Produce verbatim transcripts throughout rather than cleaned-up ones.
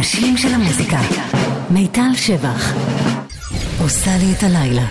האנשים של המוזיקה. מיטל שבח עושה לי את הלילה.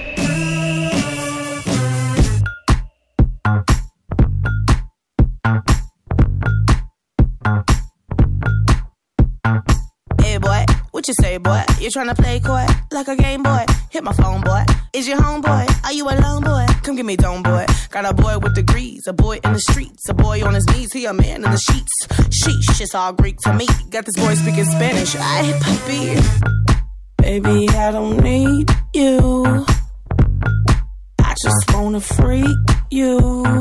What you say, boy? You tryna play coy like a game boy? Hit my phone, boy. Is your homeboy? Are you alone, boy? Come get me dome, boy. Got a boy with degrees, a boy in the streets, a boy on his knees, he a man in the sheets. Sheesh, it's all Greek to me. Got this boy speaking Spanish. Ay, papi. Baby, I don't need you. I just wanna freak you.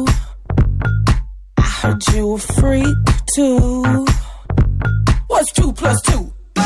I heard you a freak too. What's two plus two?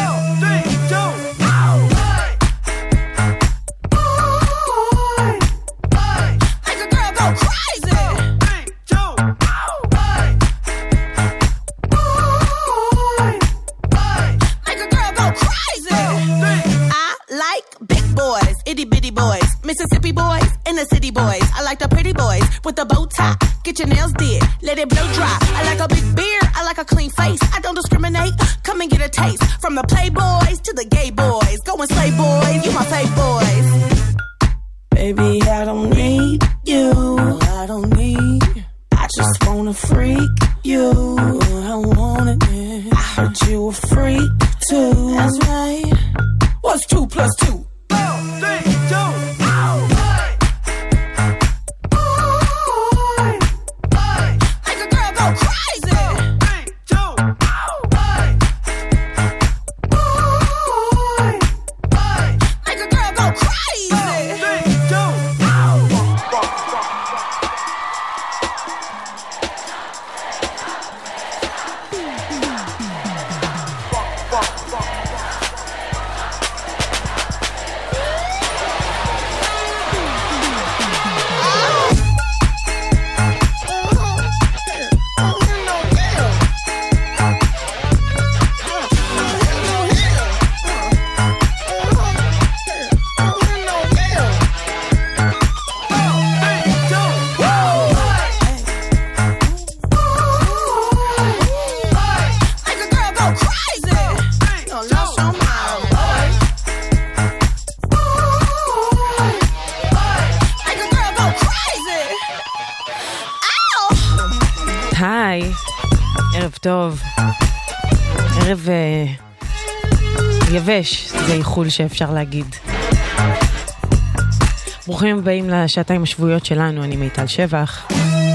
Mississippi boys and the city boys. I like the pretty boys with the bow tie. Get your nails did, let it blow dry. I like a big beard, I like a clean face. I don't discriminate, come and get a taste. From the playboys to the gay boys. Go and slay boys, you my fave boys. Baby, I don't need you. I don't need. I just wanna freak you. I want it. I heard you a freak too. That's right. What's two plus two? Four, three, two. היי, ערב טוב, ערב uh, יבש, זה איחול שאפשר להגיד. ברוכים הבאים לשעתיים השבועיות שלנו, אני מיטל שבח.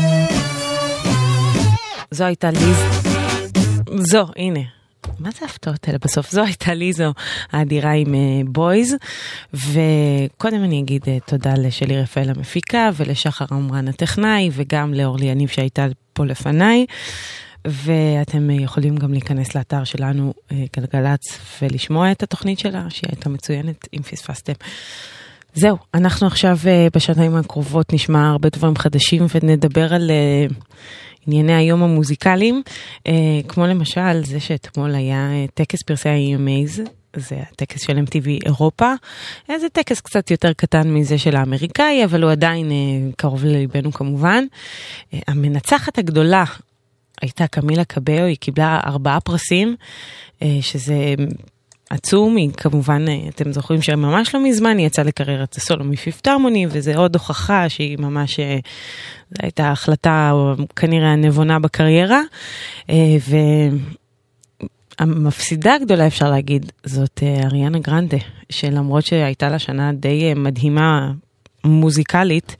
זו הייתה ליז, זו, הנה, מה זה הפתעות האלה בסוף? זו הייתה ליזו האדירה עם בויז, וקודם אני אגיד תודה לשלי רפאל המפיקה, ולשחר עמרן הטכנאי, וגם לאורלי יניב שהייתה פה לפניי, ואתם יכולים גם להיכנס לאתר שלנו גלגלץ, ולשמוע את התוכנית שלה, שהיא הייתה מצוינת אם פספסתם. זהו, אנחנו עכשיו בשעתיים הקרובות נשמע הרבה דברים חדשים, ונדבר על ענייני היום המוזיקליים, כמו למשל זה שאתמול היה טקס פרסי ה-E M As, זה הטקס של M T V אירופה, זה טקס קצת יותר קטן מזה של האמריקאי, אבל הוא עדיין קרוב לליבנו כמובן. המנצחת הגדולה הייתה קמילה קבאו, היא קיבלה ארבעה פרסים, שזה עצום, היא כמובן, אתם זוכרים שממש לא מזמן היא יצאה לקריירת הסולו מפיפט הרמוני, וזה עוד הוכחה שהיא ממש, זו הייתה החלטה כנראה הנבונה בקריירה, והמפסידה הגדולה אפשר להגיד, זאת אריאנה גרנדה, שלמרות שהייתה לה שנה די מדהימה מוזיקלית,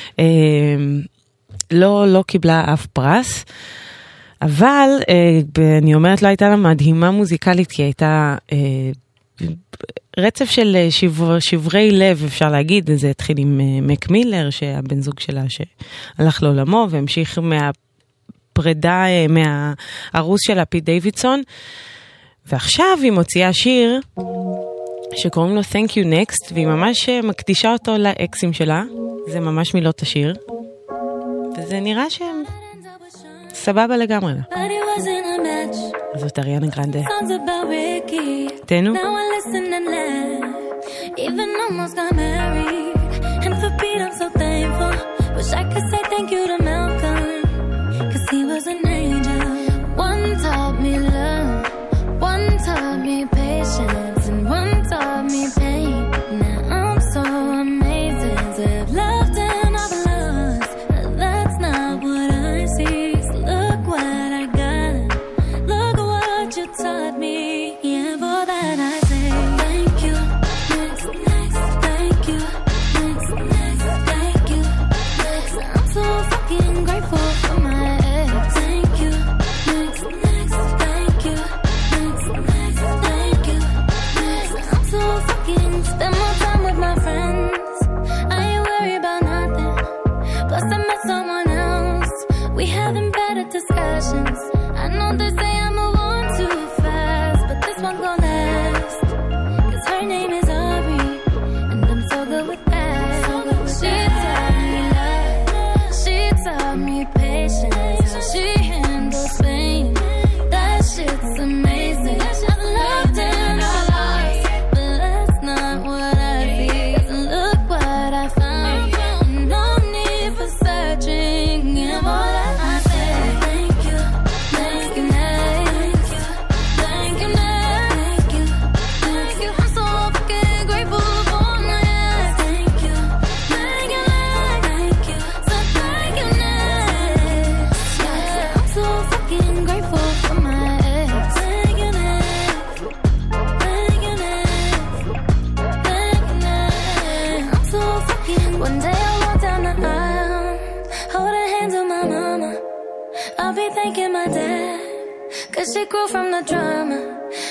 לא, לא קיבלה אף פרס, אבל אני אומרת, לא הייתה לה מדהימה מוזיקלית, כי הייתה רצף של שבר, שברי לב, אפשר להגיד. זה התחיל עם מק מילר, שהבן זוג שלה שהלך לעולמו, והמשיך מהפרידה, מהארוס שלה, פיט דיווידסון, ועכשיו היא מוציאה שיר שקוראים לו Thank You Next, והיא ממש מקדישה אותו לאקסים שלה. זה ממש מילות השיר, וזה נראה שהם סבבה לגמרי. זאת אריאנה גרנדה. תנו. Even almost got married, and for Pete I'm so thankful. Wish I could say thank you to Malcolm, cause he was an angel. One taught me love, one taught me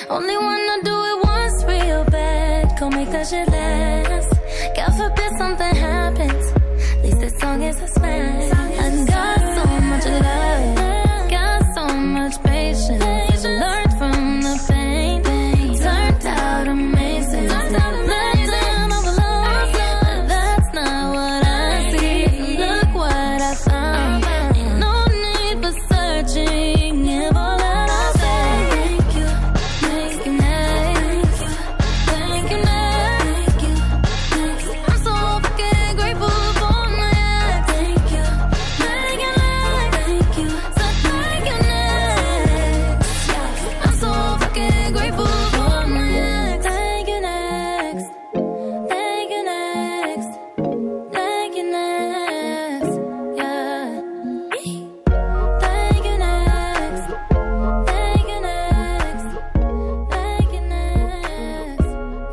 Only wanna do it once real bad. Go make that shit last. God forbid something happens. At least this song is a smash. I got so much love, got so much patience. Learned from the pain, turned out amazing. Turned out amazing. That's not what I see. Look what I found. Ain't no need for searching. Give all that I say. Thank you, thank you next. Thank you next. I'm so fucking grateful for my ex. Thank you, thank you next. Thank you, so thank you next. I'm so fucking grateful for my ex. Thank you next. Thank you next. Thank you next. Yeah. Thank you next. Thank you next. Thank you next.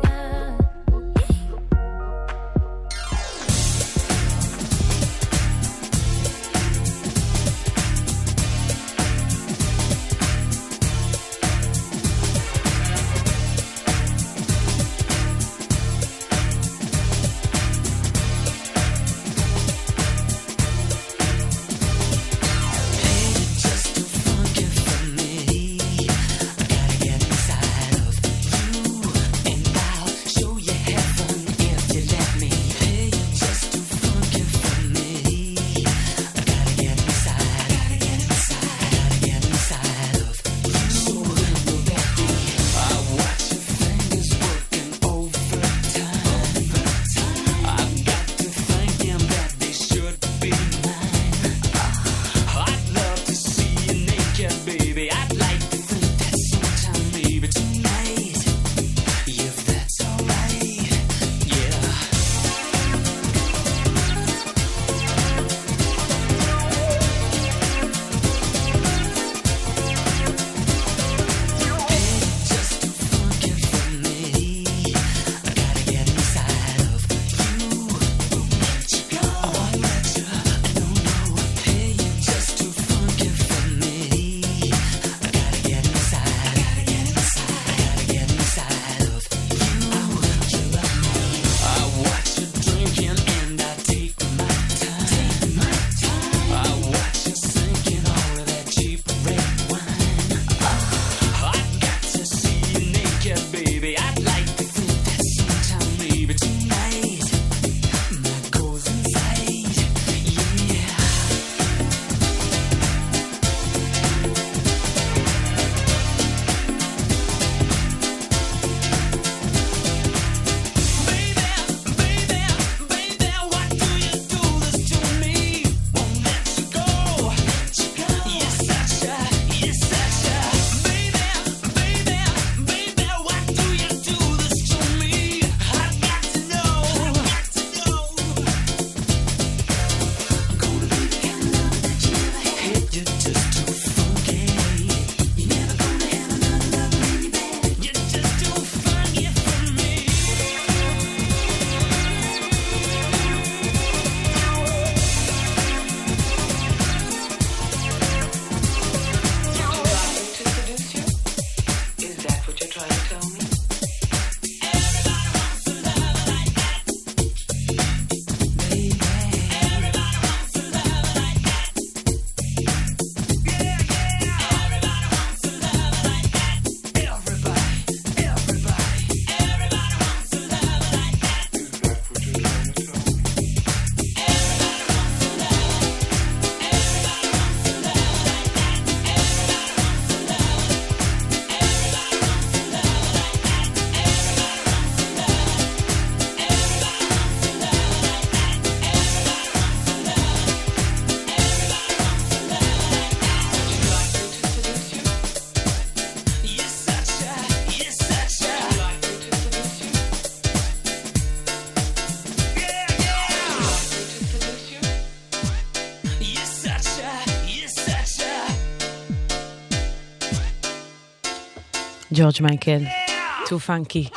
ג'ורג' מייקל, too funky.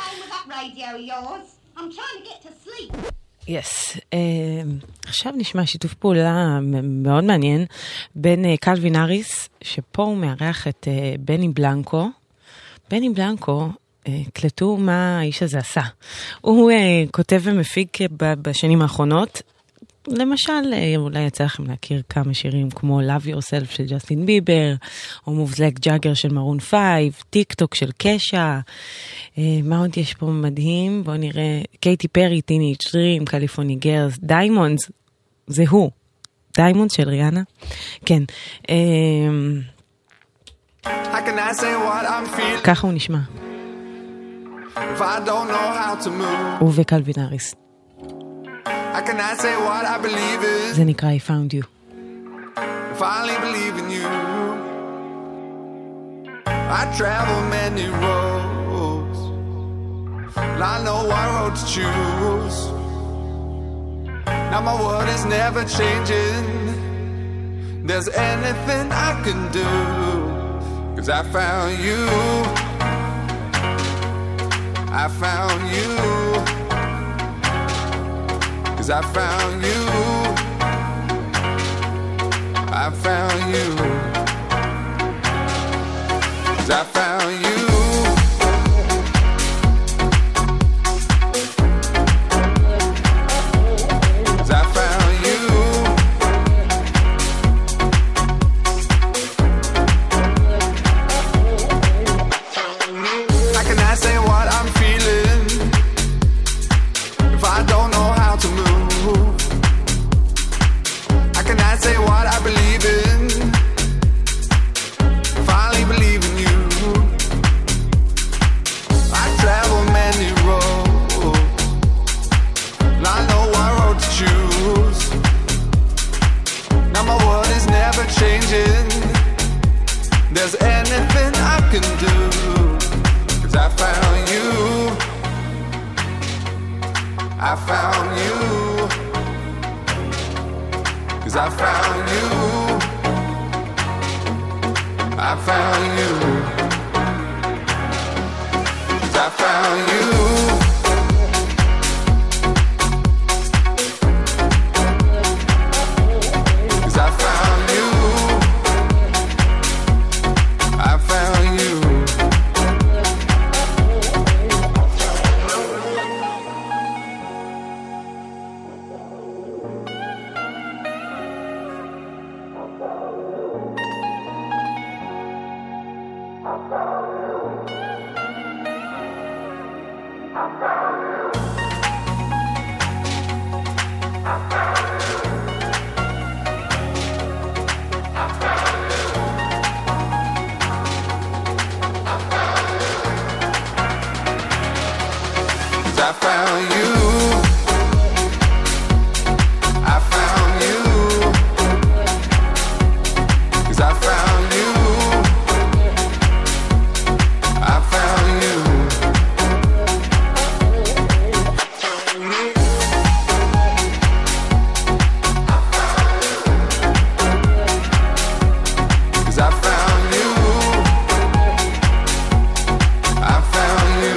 Yes. עכשיו נשמע שיתוף פעולה מאוד מעניין בין קלווין האריס, שפה הוא מארח את בני בלנקו, בני בלנקו, קלטו מה האיש הזה עשה. הוא כותב ומפיק בשנים האחרונות, למשל, אולי יצא לכם להכיר כמה שירים כמו Love Yourself של ג'סטין ביבר, או Moves Like Jagger של מרון פייב, טיק טוק של קשה. מה עוד יש פה מדהים? בואו נראה, קייטי פרי, טיני דרים, קליפורני גרס, דיימונדס, זה הוא. דיימונדס של ריאנה. כן. ככה הוא נשמע. הוא וקלווין האריס. I cannot say what I believe in. זה נקרא I found you. If I only believe in you. I travel many roads. And I know what road to choose. Now my world is never changing. There's anything I can do. Cause I found you. I found you. Cause I found you. I found you. Cause I found you. Cause I found you. How can I say what I'm feeling if I don't know how to move? I say what I believe in. Finally believe in you. I travel many roads, and I know what road to choose. Now my world is never changing. There's anything I can do. Cause I found you. I found you. Cause I found you. I found you. Cause I found you. Cause I found you. I found you. I found you. I found you. Cause I found you. I found you. Cause I found you. I found you.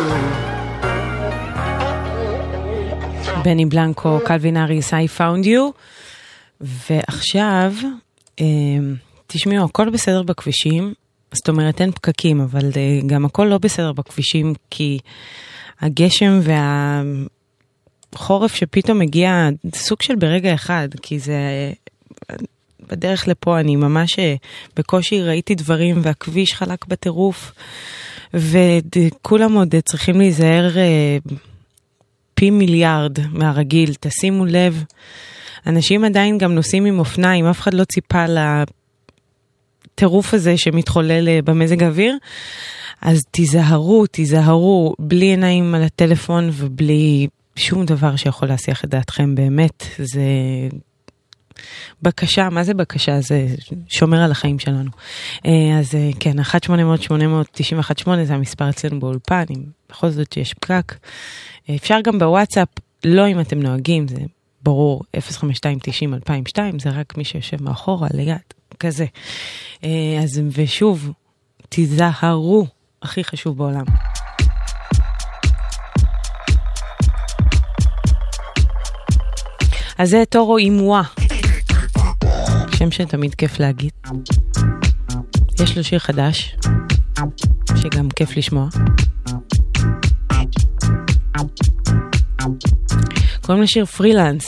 בני בלנקו, קלווין האריס, I found you. ועכשיו, תשמעו, הכל בסדר בכבישים, זאת אומרת אין פקקים, אבל גם הכל לא בסדר בכבישים, כי הגשם והחורף שפתאום מגיע, סוג של ברגע אחד, כי זה בדרך לפה, אני ממש בקושי ראיתי דברים, והכביש חלק בטירוף, וכולם עוד צריכים להיזהר פי מיליארד מהרגיל, תשימו לב, אנשים עדיין גם נוסעים עם אופניים, אף אחד לא ציפה לטירוף הזה שמתחולל במזג האוויר, אז תיזהרו, תיזהרו, בלי עיניים על הטלפון ובלי שום דבר שיכול להסיח את דעתכם, באמת, זה בקשה, מה זה בקשה? זה שומר על החיים שלנו. אז כן, אחת שמונה אפס אפס שמונה תשע אחת שמונה זה המספר אצלנו באולפן, אם בכל זאת שיש פקק. אפשר גם בוואטסאפ, לא אם אתם נוהגים, זה ברור, אפס חמש שתיים תשעים אלפיים ושתיים, זה רק מי שיושב מאחורה, ליד, כזה. אז ושוב, תיזהרו, הכי חשוב בעולם. אז זה טורו אימואה, שם שתמיד כיף להגיד. יש לו שיר חדש, שגם כיף לשמוע. קוראים לשיר פרילנס.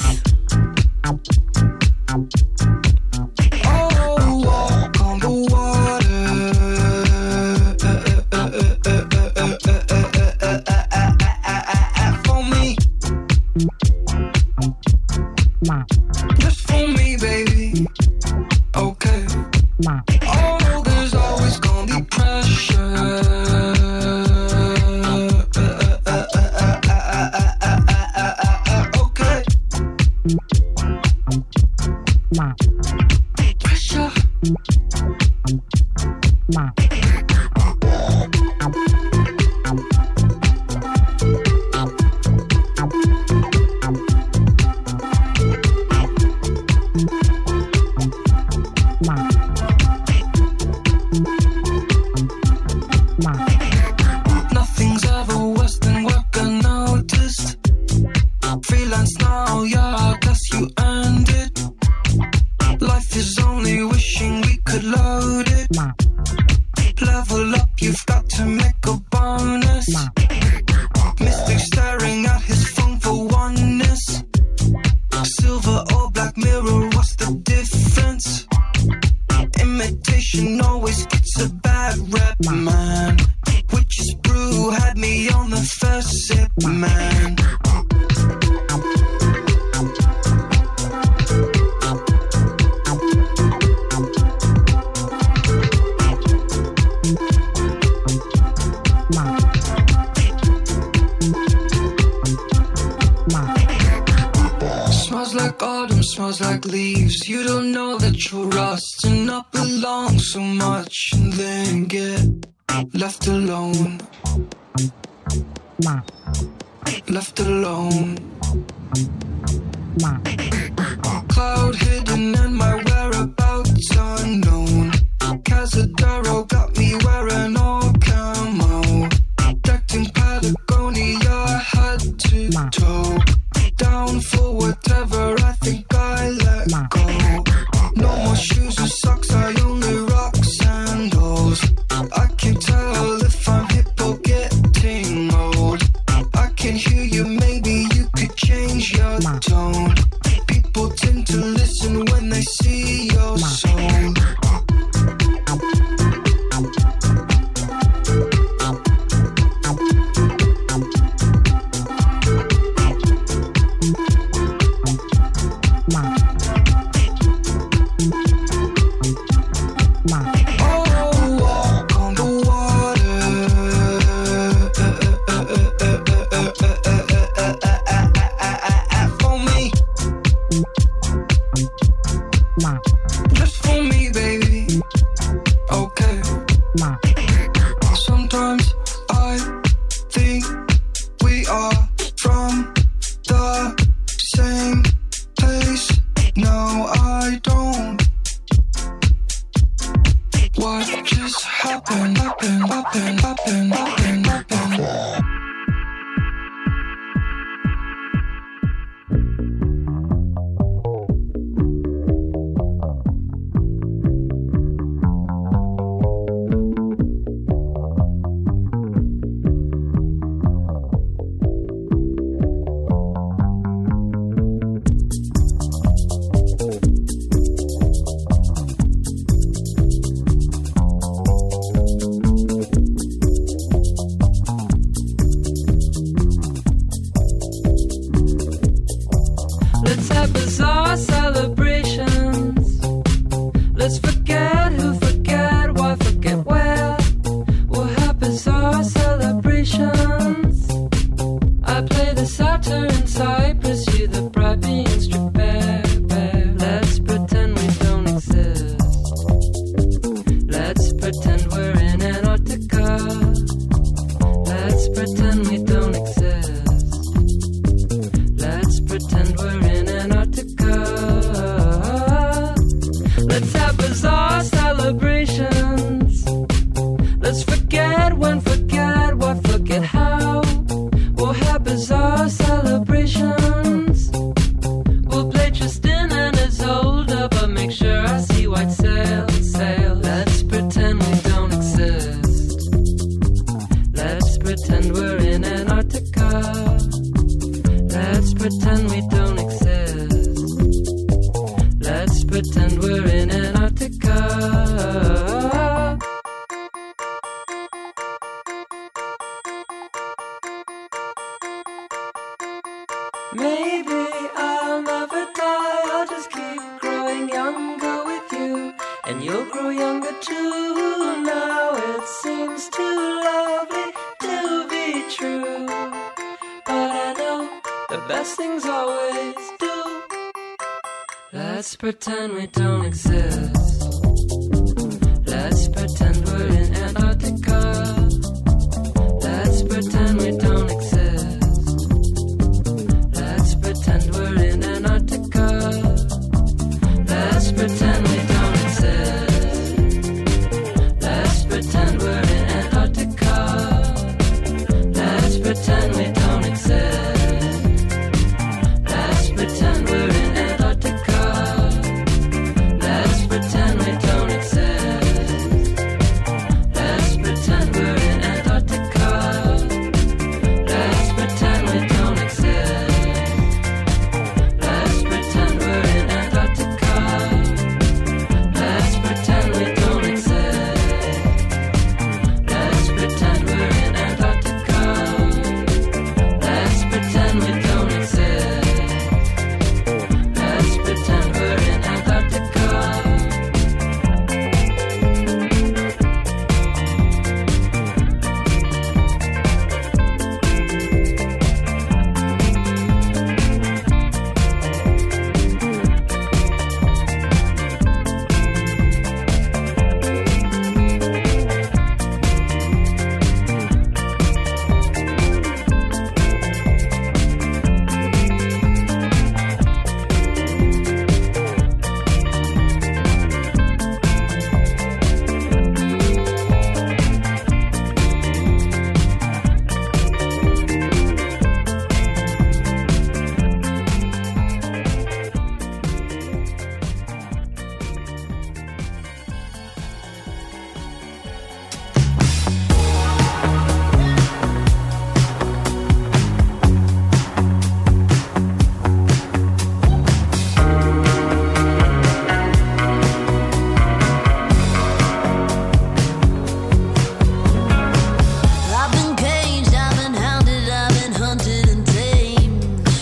pretend we're in Antarctica. Let's pretend we don't exist. Let's pretend we're in Antarctica. Maybe I'll never die, I'll just keep growing younger with you, and you'll grow younger too. Now it seems too lovely to be true, but I know the best things always do. Let's pretend we don't exist. Let's pretend we're in Antarctica. Let's pretend we don't exist. Let's pretend we're in Antarctica. Let's pretend we don't exist. Let's pretend we're in Antarctica. Let's pretend we don't exist. Let's pretend we're in Antarctica. Let's pretend we don't exist. Let's pretend we're in Antarctica. Let's pretend we don't exist. Let's pretend we're in Antarctica. Let's pretend we don't exist. Let's pretend we're in Antarctica. Let's pretend we don't exist. Let's pretend we're in Antarctica. I've been caged, I've been hounded, I've been hunted and tamed.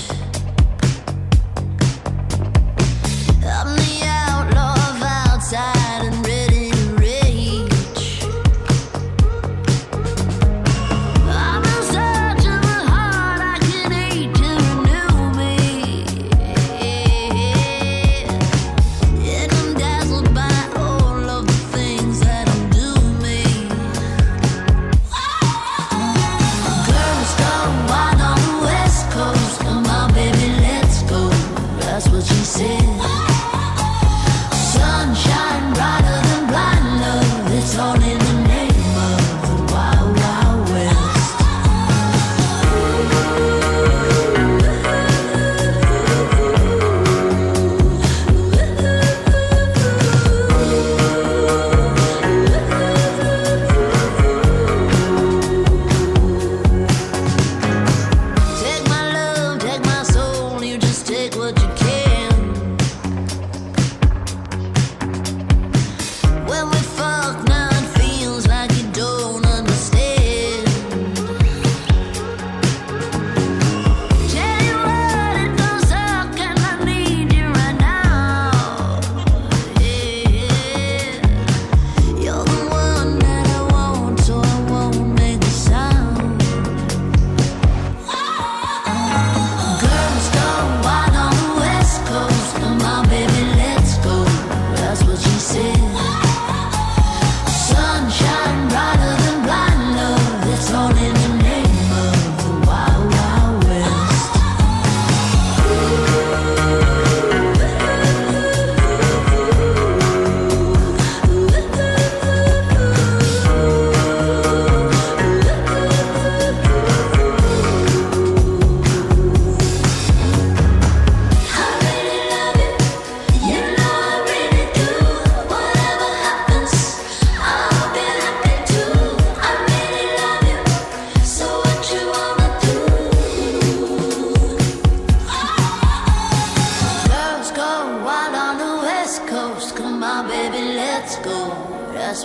I'm the outlaw of outside and ready to rage. I'm in search of a heart I can hate to renew me. And I'm dazzled by all of the things that undo me. Curvestone wine on the west coast. Come on, baby, let's go. That's what she said. Sunshine brighter than blind love. It's all in the name of the wild, wild west. Take my love, take my soul. You just take what you can.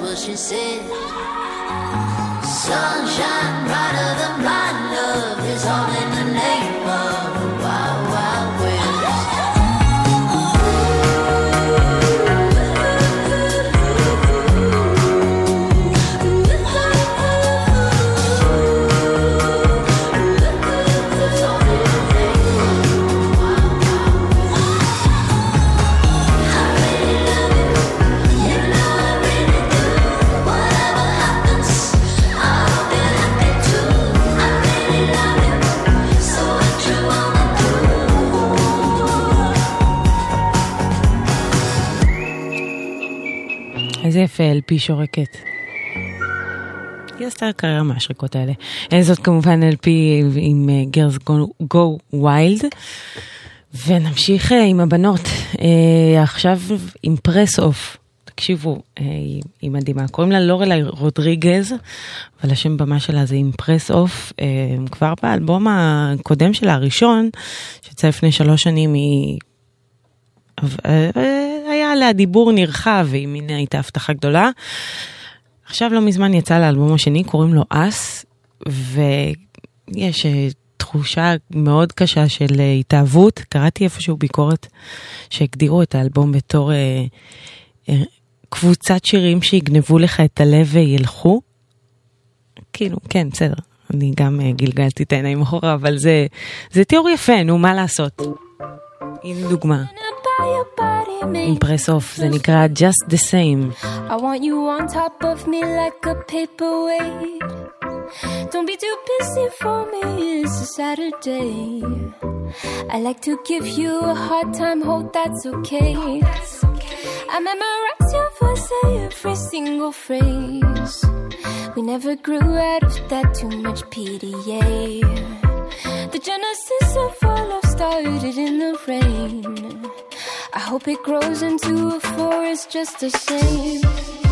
what she said. Sunshine brighter than blind love is all in the name of the wild, wild west. איזה יפה, אל פי שורקת. היא עשתה קריירה מהשריקות האלה. זאת כמובן אל פי עם Girls Go, Go Wild. ונמשיך עם הבנות. עכשיו עם פרס אוף. תקשיבו, היא מדהימה. קוראים לה לורלי רודריגז, אבל השם במה שלה זה עם פרס אוף. כבר באלבום הקודם שלה, הראשון, שיצא לפני שלוש שנים, היא... היה עליה דיבור נרחב, והיא מין הייתה הבטחה גדולה. עכשיו לא מזמן יצא לאלבום השני, קוראים לו אס, ויש תחושה מאוד קשה של התאהבות. קראתי איפשהו ביקורת שהגדירו את האלבום בתור אה, אה, קבוצת שירים שיגנבו לך את הלב וילכו. כאילו, כן, בסדר. אני גם אה, גלגלתי את העיניים אחורה, אבל זה, זה תיאור יפה, נו, מה לעשות? הנה דוגמה. עם פרס אוף, זה נקרא Just the Same. I want you on top of me like a paperweight. Don't be too busy for me, it's a Saturday. I like to give you a hard time, hope that's okay. I memorize your voice, say every single phrase. We never grew out of that, too much P D A. The genesis of our love started in the rain. I hope it grows into a forest just the same.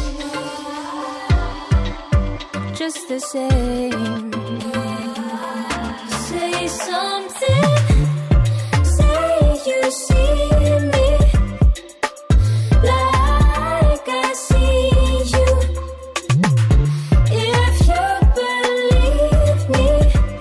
Just the same. Say something. Say you see me like I see you. If you believe me,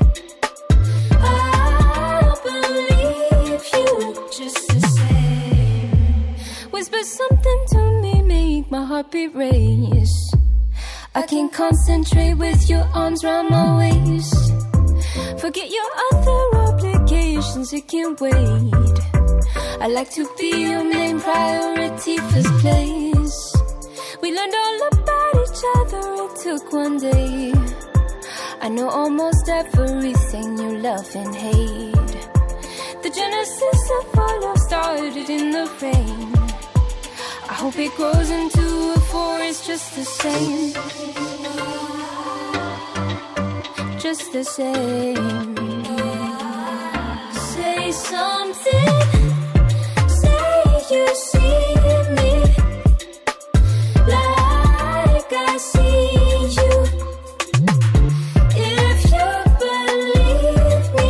I'll believe you. Just the same. Whisper something to me, make my heart beat race. I can't concentrate with your arms round my waist. Forget your other obligations, it can't wait. I like to be your main priority, first place. We learned all about each other, it took one day. I know almost everything you love and hate. The genesis of our love started in the rain. I hope it grows into a forest just the same. Just the same. Say something. Say you see me like I see you. If you believe me,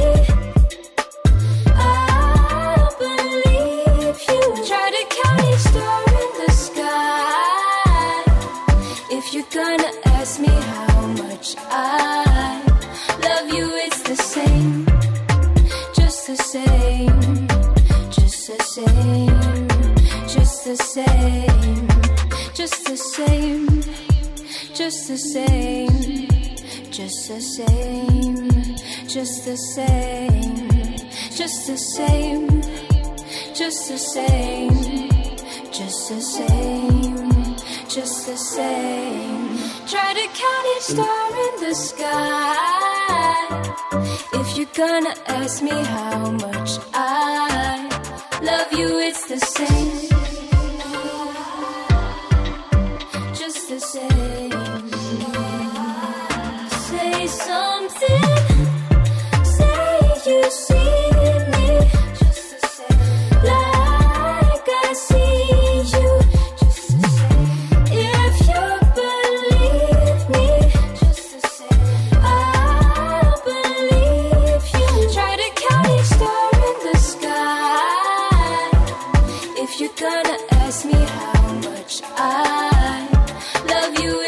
I'll believe you. Try to count each star in the sky. If you're gonna ask me how much I love you, it's the same. Just the same. Just the same. Just the same. Just the same. Just the same. Just the same. Just the same. Just the same. Just the same. Just the same. Just the same. Try to count each star in the sky. If you're gonna ask me how much I love you, it's the same. Just the same. Say something. Say you see me just the same. Like I see you. Just the same. If you believe me, just the same. I'll believe you. Try to count each star in the sky. If you're gonna ask me how much I love you,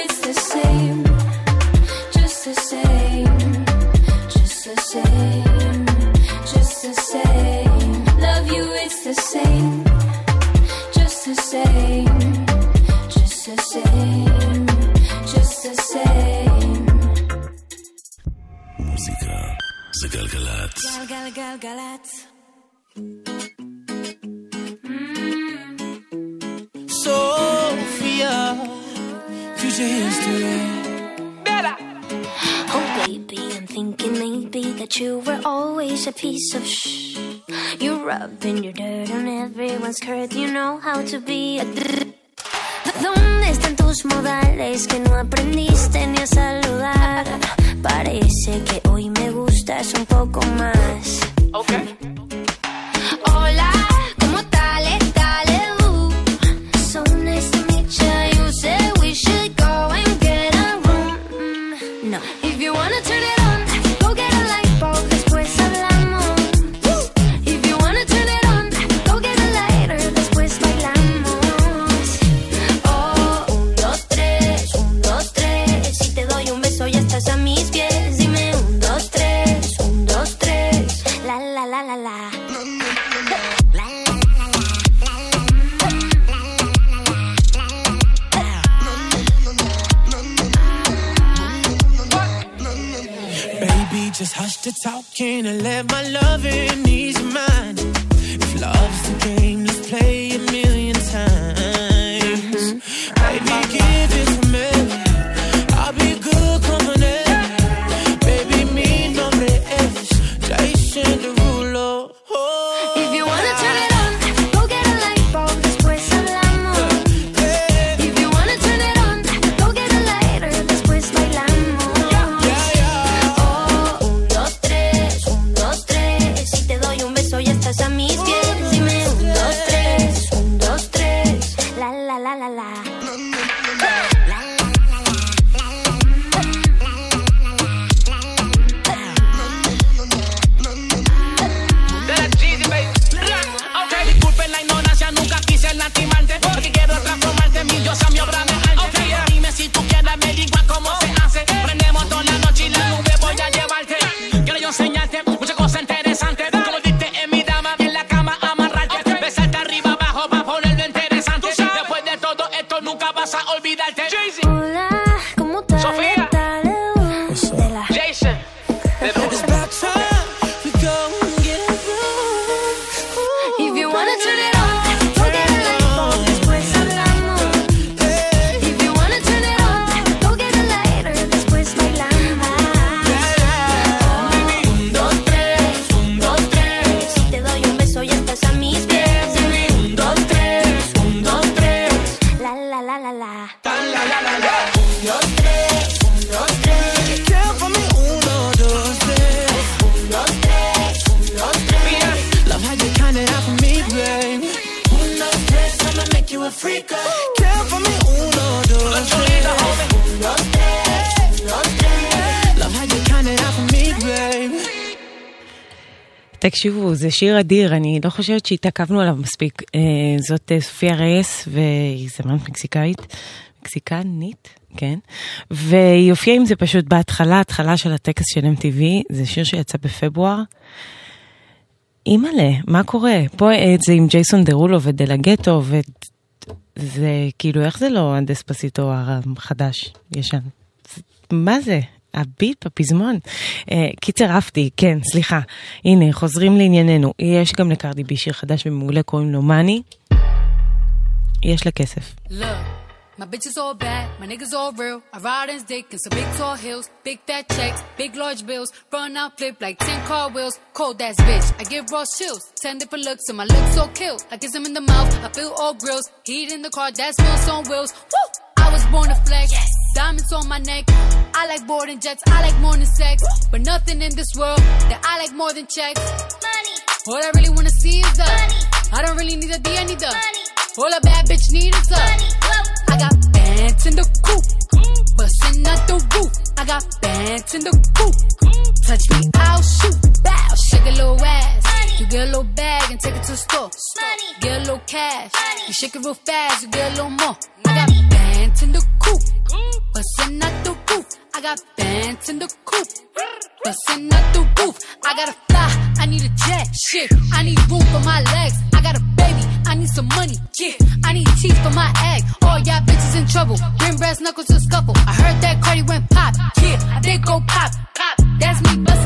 המוזיקה זה גלגלצ. גלגלגלגלצ. Sophia, future history. Oh baby, I'm thinking maybe that you were always a piece of shh. You rubbing your dirt on everyone's curd. You know how to be a d- ¿Dónde están tus modales que no aprendiste ni a saludar? Parece que hoy me gustas un poco más. Okay. Hola, ¿cómo tal? Dale, uh. So nice to meet you. You said we should go and get a room. Mm, no. If you wanna turn it on, go get a light bulb. Después hablamos. If you wanna turn it on, go get a lighter. Después bailamos. Oh, un, dos, tres, un, dos, tres. Si te doy un beso ya estás a mis pies. Dime un, dos, tres, un, dos, tres. La, la, la, la, la. Baby, just hush the talking and let my loving ease your mind. If love's the game, let's play a million times. Baby, give it to me. I'll be good company. Baby, mi nombre es Jason Derulo. Oh. If you wanna turn it on, go get a light bulb. Después hablamos. If you wanna turn it on, go get a lighter. Después bailamos. Oh, un, dos, tres, un, dos, tres. Si te doy un beso ya estás a mis pies. Dime un, dos, tres, un, dos, tres. La, la, la, la, la. Okay, disculpen la ignorancia, nunca quise lastimarte. Porque quiero transformarte en mi diosa, mi obra de arte. Okay, dime si tú quieres, me digas cómo se hace. Prendemos toda la noche y la nube voy a llevarte. Quiero yo enseñarte muchas cosas interesantes. Como diste en mi dama, en la cama amarrarte. Besarte arriba, abajo, para ponerlo interesante. Después de todo esto nunca vas a olvidarte. Hola, ¿cómo tal? Sofía. Dale, uh. De la- Jason. It's about time we go and get a room. If you wanna turn it on, go get a light bulb. Después hablamos. If you wanna turn it on, go get a lighter. Después bailamos. Un, dos, tres, un, dos, tres. Si te doy un beso ya estás a mis pies. Dime un, dos, tres, un, dos, tres. La, la, la, la, la. Un, dos, tres, un, dos, tres. Count for me, uno, dos, tres. Un, dos, tres, un, dos, tres. Love how you count it out for me, babe. Un, dos, tres, I'ma make you a freak. Count for me, uno, dos, tres. Un, dos, tres, un, dos, tres. Love how you count it out for me, babe. תקשיבו, זה שיר אדיר, אני לא חושבת שהתעכבנו עליו מספיק. אה, זאת אה, סופיה רייס, והיא זמרת מקסיקאית, מקסיקנית, כן? והיא הופיעה עם זה פשוט בהתחלה, התחלה של הטקס של אם טי וי, זה שיר שיצא בפברואר. אימאלה, מה קורה? פה אה, זה עם ג'ייסון דרולו ודלגטו, וזה כאילו, איך זה לא הדספסיטו החדש, ישן? מה זה? הביט בפזמון. אה, קיצר אפתי, כן, סליחה. הנה, חוזרים לענייננו. יש גם לקרדי בי שיר חדש ומעולה, קוראים לו מאני. יש לה כסף. Look, my bitches all bad, my niggas all real. I ride in dick in some big tall hills, big fat checks, big large bills, run out flip like ten car wheels. Cold ass bitch, I give raw chills. Ten different looks and my lips so kill. I kiss him in the mouth, I feel all grills. Heat in the car, that smells on wheels. Woo! I was born to flex, yes. Diamonds on my neck. I like boarding jets, I like more than sex. But nothing in this world that I like more than checks. Money. All I really wanna see is the money. I don't really need a D, I need the money. All a bad bitch need is the money. I got bands in the coop, bustin' out the roof. I got bands in the coop. Touch me, I'll shoot. Bow, shake a little ass. Money. You get a little bag and take it to the store. Money. Get a little cash. Money. You shake it real fast, you get a little more. I got bands in the coop, bustin' out the roof. I got bands in the coop, bustin' out the roof. I gotta fly, I need a jet. Shit, I need room for my legs. I got a baby, I need some money. Yeah, I need teeth for my egg. All y'all bitches in trouble. Bring brass knuckles to scuffle. I heard that Cardi went pop. Yeah, I did go pop. Pop. That's me bustin'.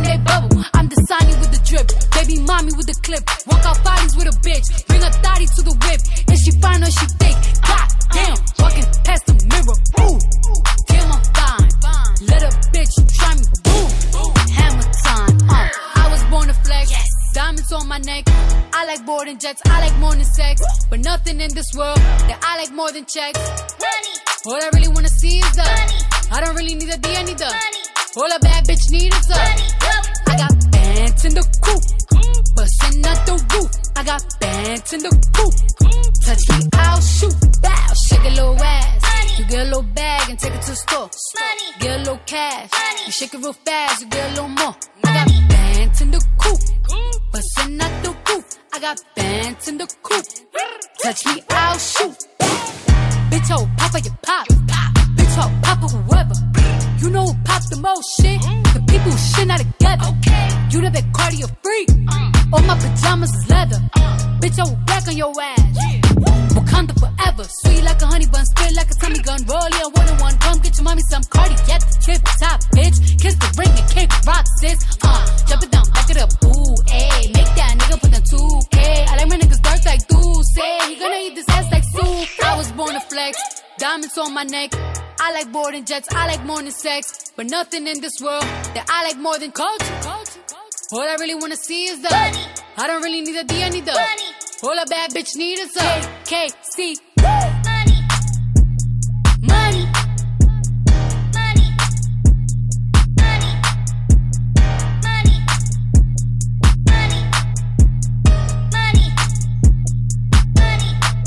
slip. Walk out bodies with a bitch. Bring a thotty to the whip. If she fine or she thick. God damn, walking past the mirror. Ooh, damn, I'm fine. Let a bitch try me. Boom, hammer time. Uh, I was born to flex. Diamonds on my neck. I like boarding jets. I like more than sex. But nothing in this world that I like more than checks. Money. All I really wanna see is the money. I don't really need a D, I need the money. All a bad bitch need is the money. I got bands in the coop, bustin' out the roof. I got bands in the coop. Touch me, I'll shoot. Bow, shake a little ass. Money. You get a little bag and take it to the store. Money. Get a little cash. Money. You shake it real fast, you get a little more. Money. I got bands in the coop, bustin' out the roof. I got bands in the coop. Touch me, I'll shoot. Bitch, oh, papa, you pop. Bitch, oh, papa, whoever. You know who pops the most shit? The people who shit not together. You know that cardio freak. All my pajamas is leather. Bitch, I will black on your ass. Wakanda forever. Sweet like a honey bun, spit like a Tommy gun. Roll yeah, one on one. Come get your mommy some Cardi at the tip top, bitch. Kiss the ring and kick rock, sis. Uh, jump it down, back it up. Ooh, ayy. Make that nigga put the two K. I like my niggas dark like Deuce. He gonna eat this ass like soup. I was born to flex. Diamonds on my neck. I like boarding jets, I like more than sex. But nothing in this world that I like more than culture. All I really wanna see is the money. I don't really need a D, I need the money. All a bad bitch need is the K C. Money. Money. Money. Money. Money. Money. Money. Money.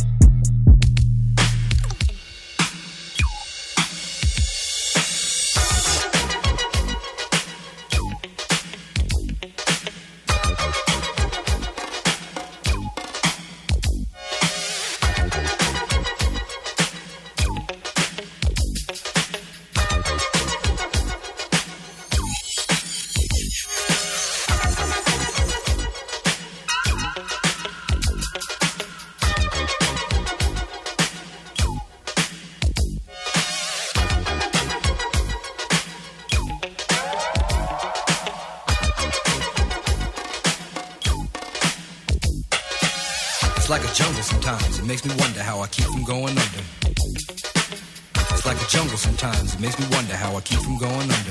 It's like a jungle sometimes, it makes me wonder how I keep from going under. It's like a jungle sometimes, it makes me wonder how I keep from going under.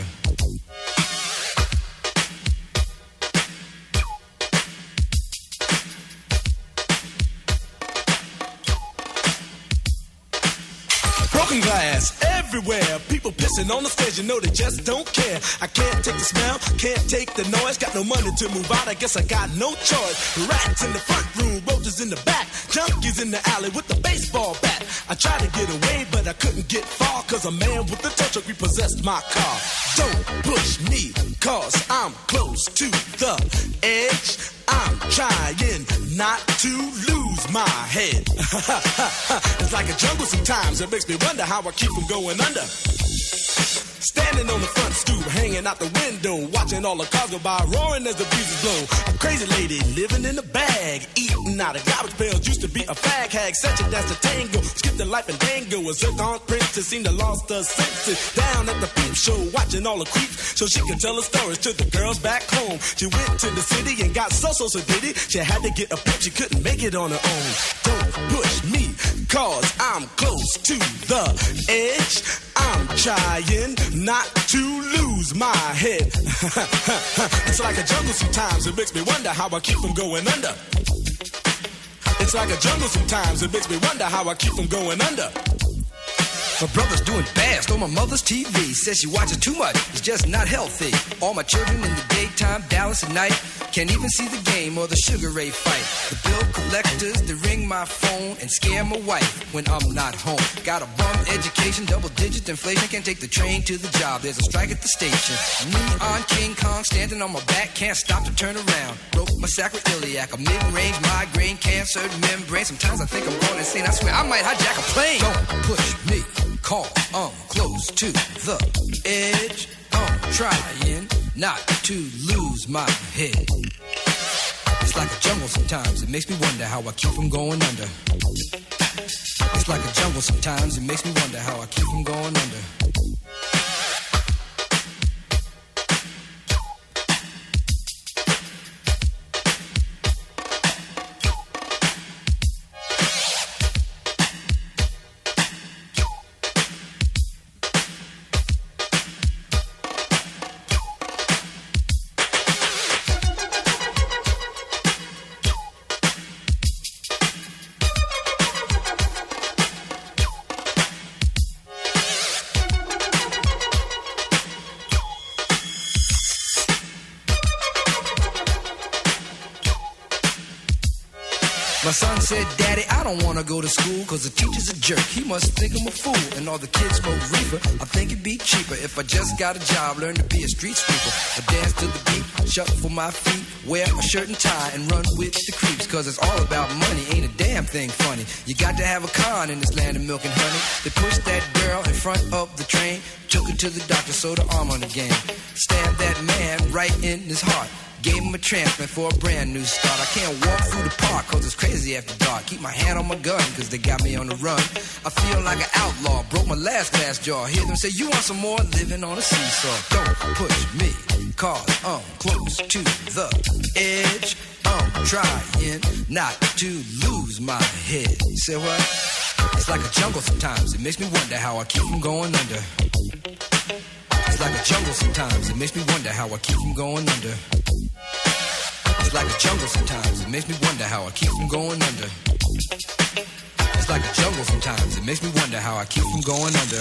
Broken glass everywhere, people pissing on the stairs, you know they just don't care. I can't take the smell, can't take the noise, got no money to move out, I guess I got no choice. Rats in the front room, roaches in the back, junkies in the alley with the baseball bat. I tried to get away, but I couldn't get far, cause a man with a tow truck repossessed my car. Don't push me, cause I'm close to the edge. I'm trying not to lose my head. It's like a jungle sometimes, it makes me wonder how I keep from going under. Standing on the front stoop, hanging out the window, watching all the cars go by, roaring as the breezes blow. A crazy lady living in a bag, eating out of garbage pails, used to be a fag hag, such a dance to tango, skipped the life and dango. A zircon princess seemed to lost her senses. Down at the peep show, watching all the creeps, so she could tell her stories to the girls back home. She went to the city and got so so so diddy. She had to get a pimp, she couldn't make it on her own. Don't push me, cause I'm close to the edge. I'm trying not to lose my head. It's like a jungle sometimes, it makes me wonder how I keep from going under. It's like a jungle sometimes, it makes me wonder how I keep from going under. My brother's doing bad, stole my mother's T V. Says she watches too much, it's just not healthy. All my children in the daytime, Dallas at night. Can't even see the game or the Sugar Ray fight. The bill collectors, they ring my phone and scare my wife when I'm not home. Got a bum education, double digit inflation. Can't take the train to the job, there's a strike at the station. Me on King Kong, standing on my back, can't stop to turn around. Broke my sacroiliac, a mid-range migraine, cancer membrane. Sometimes I think I'm going insane, I swear I might hijack a plane. Don't push me, call, I'm close to the edge. I'm trying not to lose my head. It's like a jungle sometimes, it makes me wonder how I keep from going under. It's like a jungle sometimes, it makes me wonder how I keep from going under. My son said, Daddy, I don't want to go to school because the teacher's a jerk. He must think I'm a fool. And all the kids smoke reefer. I think it'd be cheaper if I just got a job, learn to be a street sweeper. I dance to the beat, shuffle my feet, wear a shirt and tie, and run with the creeps. Because it's all about money, ain't a damn thing funny. You got to have a con in this land of milk and honey. They pushed that girl in front of the train, took her to the doctor, sewed her arm on the game. Stabbed that man right in his heart. Gave him a transplant for a brand new start. I can't walk through the park cause it's crazy after dark. Keep my hand on my gun cause they got me on the run. I feel like an outlaw, broke my last glass jaw. Hear them say, you want some more? Living on a seesaw. Don't push me cause I'm close to the edge. I'm trying not to lose my head. You say what? It's like a jungle sometimes. It makes me wonder how I keep from going under. It's like a jungle sometimes. It makes me wonder how I keep from going under. It's like a jungle sometimes. It makes me wonder how I keep from going under. It's like a jungle sometimes. It makes me wonder how I keep from going under.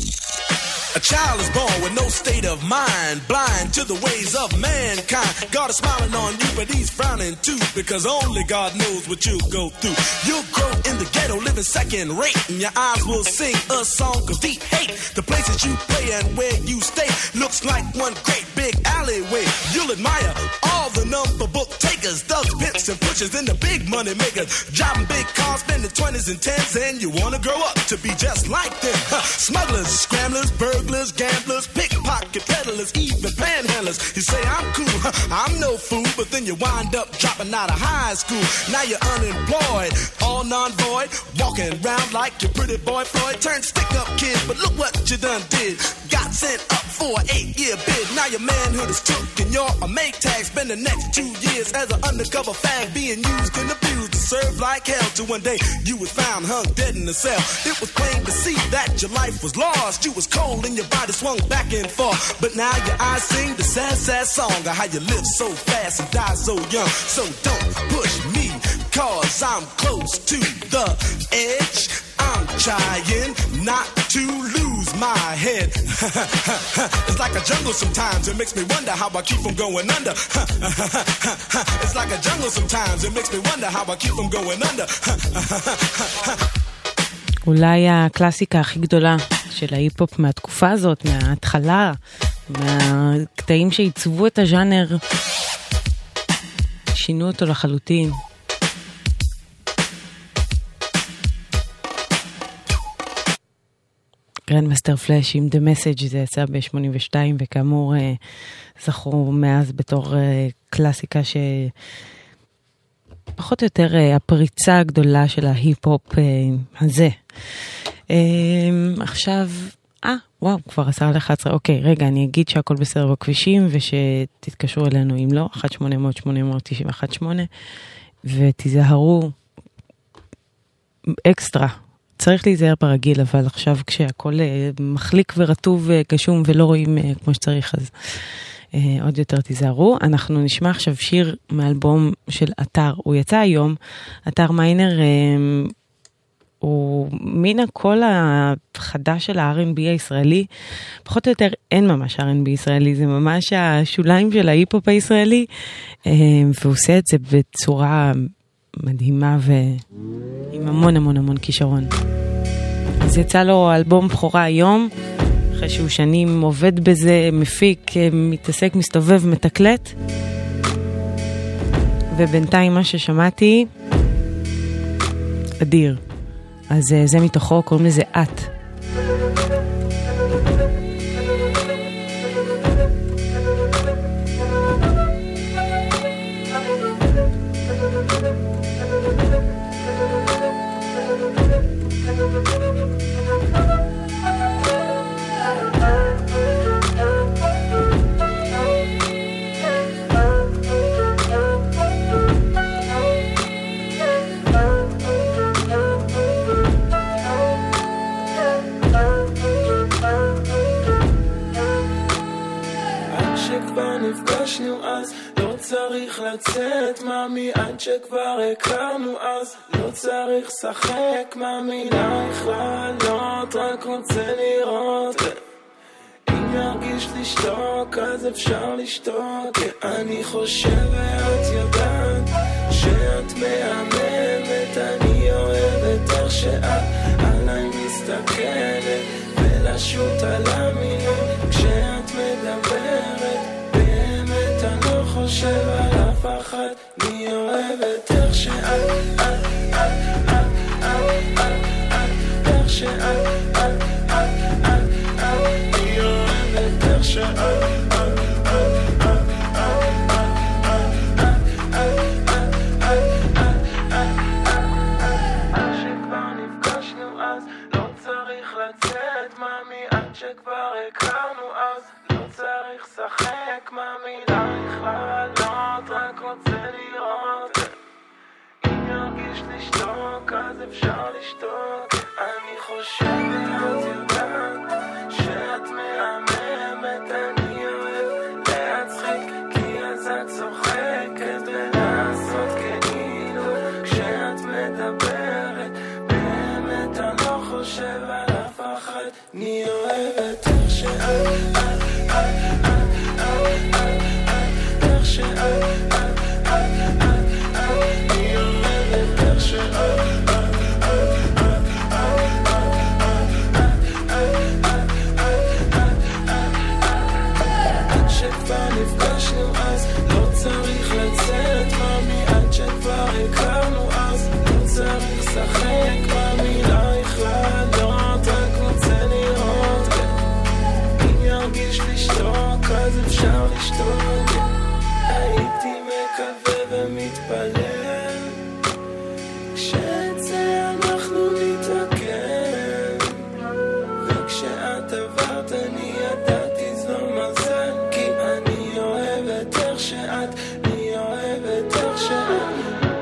A child is born with no state of mind, blind to the ways of mankind. God is smiling on you, but he's frowning too, because only God knows what you'll go through. You'll grow in the ghetto, living second rate, and your eyes will sing a song of deep hate. The places you play and where you stay looks like one great big alleyway. You'll admire all the number book takers, thugs, pimps, and pushers, and the big money makers, driving big cars, spending twenties and tens, and you wanna grow up to be just like them. Huh. Smugglers, scramblers, burglars, gamblers, pickpocket peddlers, even panhandlers. You say I'm cool, huh, I'm no fool, but then you wind up dropping out of high school. Now you're unemployed, all non-void, walking around like your pretty boy Floyd. Turned stick-up kid, but look what you done did. Got sent up for an eight-year bid. Now your manhood is took and you're a make tag. Spend the next two years as an undercover fag, being used and abused to serve like hell. Till one day you was found hung dead in a cell. It was plain to see that your life was lost. You was cold and your body swung back and forth. But now your eyes sing the sad, sad song of how you live so fast and die so young. So don't push me, cause I'm close to the edge. I'm trying not to lose my head. It's like a jungle sometimes. It makes me wonder how I keep from going under. It's like a jungle sometimes. It makes me wonder how I keep from going under. אולי הקלאסיקה הכי גדולה של ההיפ-הופ מהתקופה הזאת, מההתחלה, מהקטעים שעיצבו את הז'אנר, שינו אותו לחלוטין. גרנדמאסטר פלאש עם The Message, זה יצא ב-שמונים ושתיים, וכאמור זכרו מאז בתור קלאסיקה שפחות או יותר הפריצה הגדולה של ההיפ-הופ הזה. עכשיו, אה, וואו, כבר עשר לאחת עשרה, אוקיי, רגע, אני אגיד שהכל בסדר בכבישים, ושתתקשרו אלינו אם לא, אחת שמונה אפס אפס שמונה אפס תשע אחת שמונה, ותיזהרו אקסטרה. צריך להיזהר ברגיל, אבל עכשיו כשהכל מחליק ורטוב וקשום ולא רואים כמו שצריך, אז עוד יותר תיזהרו. אנחנו נשמע עכשיו שיר מאלבום של אתר, הוא יצא היום, אתר מיינר, הוא מן הקול החדש של ה-אר אנד בי הישראלי, פחות או יותר אין ממש אר אנד בי ישראלי, זה ממש השוליים של ההיפ-הופ הישראלי, והוא עושה את זה בצורה מדהימה ועם המון המון המון כישרון. אז יצא לו אלבום בכורה היום, אחרי שהוא שנים עובד בזה, מפיק, מתעסק, מסתובב, מתקלט. ובינתיים מה ששמעתי, אדיר. אז זה מתוכו, קוראים לזה את. לצאת מאמי עד שכבר הכרנו אז לא צריך שחק מאמי לך לעלות רק רוצה לראות אם ירגיש לשתוק אז אפשר לשתוק אני חושב ואת יודעת שאת מהממת כשאת עליי מסתכלת ולשוט על המילים כשאת מדברת באמת אני לא חושב על אף אחד מי אוהבת איך שאת את את את את את איך שאת את את את את מי אוהבת איך שאת שכבר הכרנו אז לא צריך שחק מהמילה לעלות רק רוצה לראות אם ירגיש לשתוק אז אפשר לשתוק אני חושבת אז יודעת שאת מהממת אני אוהב להצחיק כי אז את צוחקת ולעשות כאילו כשאת מדברת באמת אני לא חושב על אף אחד אני אוהבת איך שאת את את את את איך שאת את את את אני אוהבת איך שאת עד שכבר נפגשנו אז לא צריך לצאת ממי עד שכבר הכרנו אז לא צריך לשחק במילה לכללות רק רוצה לראות אם ירגיש לשתוק אז אפשר לשתוק הייתי מקווה ומתפלל כשאת זה אנחנו נתעכב וכשאת עברת אני ידעתי זו מזל כי אני אוהבת איך שאת אני אוהבת איך שאת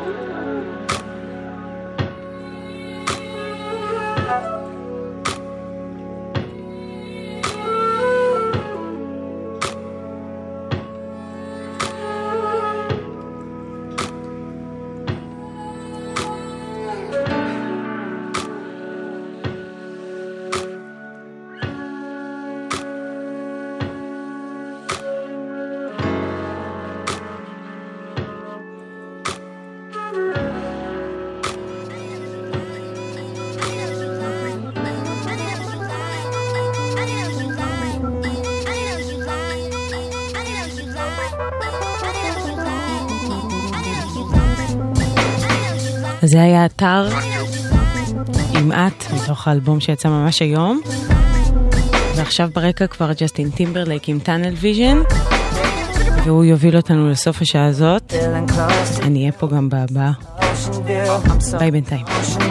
זה היה אתר עם את מתוך האלבום שיצא ממש היום ועכשיו ברקע כבר ג'סטין טימברלייק עם טאנל ויז'ן והוא יוביל אותנו לסוף השעה הזאת אני אהיה פה גם בהבאה ביי בינתיים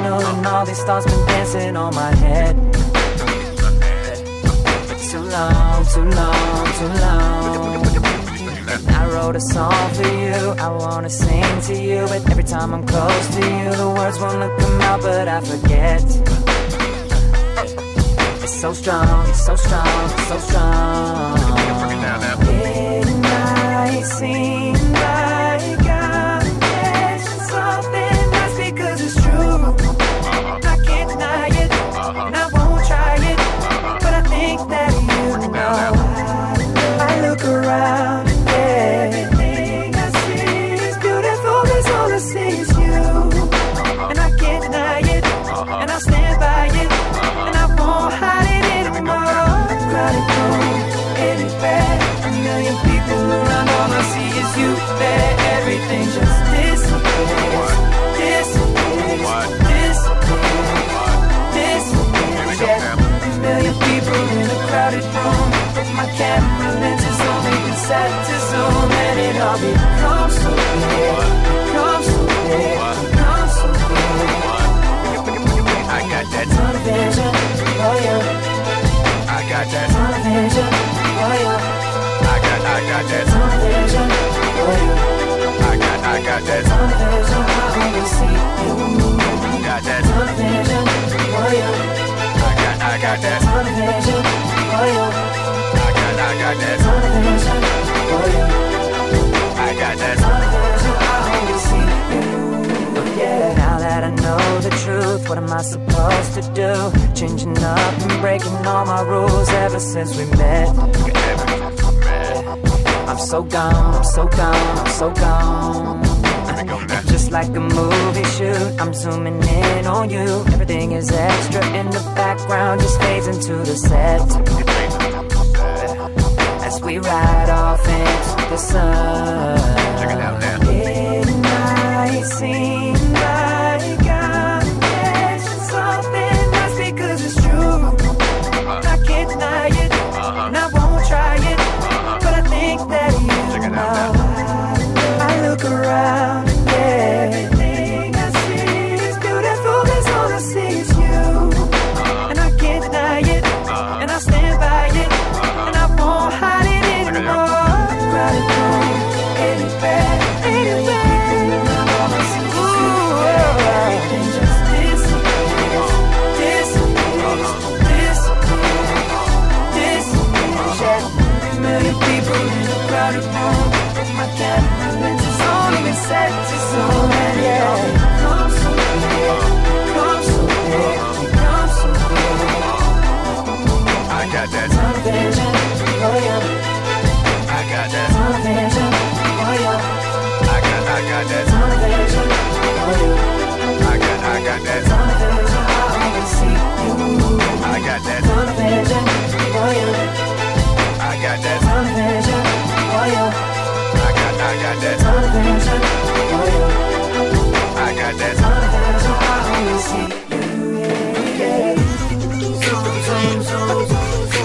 Too long, too long, too long I wrote a song for you, I wanna sing to you but every time I'm close to you the words won't let come out but I forget It's so strong, it's so strong, it's so strong It might seem like I'm missing something that's because it's true I can't deny it, and I won't try it but I think that you know I look around everything I see is beautiful, cause all I see is you and I can't deny it, and I'll stand by it and I won't hide it anymore Crowded room, anywhere, a million people around all I see is you there everything just disappears, disappears, disappears, disappears yeah, a million people in a crowded room with my camera lenses only set to zoom and it all becomes so clear, becomes so clear, becomes so clear I got that tunnel vision, oh yeah I got that tunnel vision, oh yeah I got, I got that tunnel vision, oh yeah I got, I got that tunnel vision, I only see you got that tunnel vision, oh yeah I got, I got that tunnel vision, oh yeah I got, I got that tunnel vision, oh yeah I got that tunnel vision, I only see you yeah. Now that I know the truth, what am I supposed to do? Changing up and breaking all my rules ever since we met. I'm so gone, I'm so gone, I'm so gone. that. Just like a movie shoot, I'm zooming in on you. Everything is extra in the background, just fades into the set. As we ride off into the sun. Check it out now. It might seem like I'm catching something, that's because it's true. Uh-huh. I can't deny it, uh-huh. and I won't try it, uh-huh. but I think that you Check it out now. I look around, yeah. Everything I see is beautiful, cause all I see is you. Uh-huh. And I can't deny it, uh-huh. and I stand by it, uh-huh. and I won't hide it anymore. Right it home, anywhere, anywhere. Ooh, everything just disappears, disappears, disappears, disappears. Yeah, a million people in a crowded room. My camera lenses on, even set to zone. And yeah, come so big, come so big, come so big. I got that television, oh yeah. I got that television, oh yeah. I got, I got that television, oh yeah. I got, I got that television, I only see you. I got that television, oh yeah. I got that television, oh yeah. I got, I got that television, oh yeah. I got that television, I only see you, yeah, yeah. Zoom, zoom, zoom, zoom.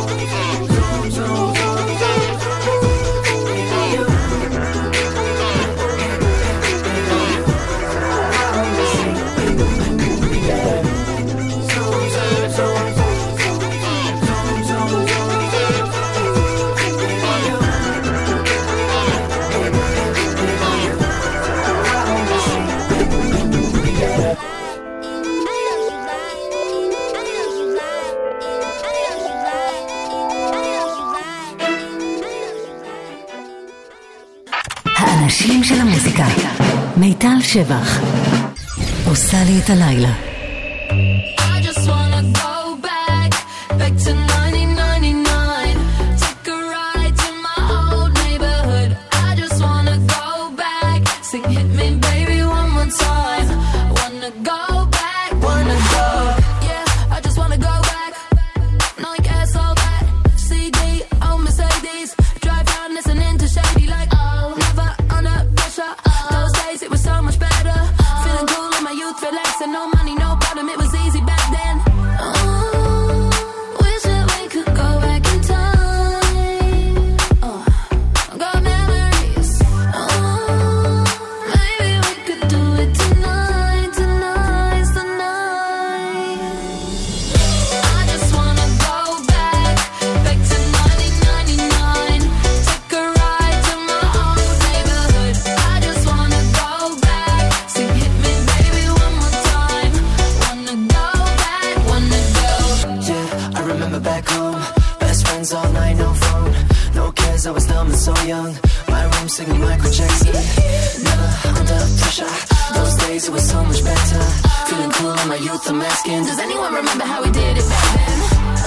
האנשים של המוזיקה. מיטל שבח עושה לי את הלילה. I just wanna go back, back to nineteen ninety-nine. Take a ride to my old neighborhood. I just wanna go back, sing hit me baby one more time. Wanna go back, wanna go. Yeah, I just wanna go back. No I guess all that. C D, oh Mercedes. Drive down listening to Shady like oh, never under pressure. Those days it was so much better. Feeling cool in my youth, relaxing, no money, no problem. It was easy back then. Oh, wish that we could go back in time. Oh, got memories. Oh, maybe we could do it tonight, tonight, tonight. I just wanna go back, back to nineteen ninety-nine. Take a ride to my old neighborhood. I just wanna go back, sing hit me baby one more time. Wanna go back, wanna go. Yeah, I remember back home. Best friends all night, no phone. No cares, I was dumb and so young. My room singing Michael Jackson. Never under pressure. Those days it was so much better. Feeling cool in my youth, I'm asking, Does anyone remember how we did it back then?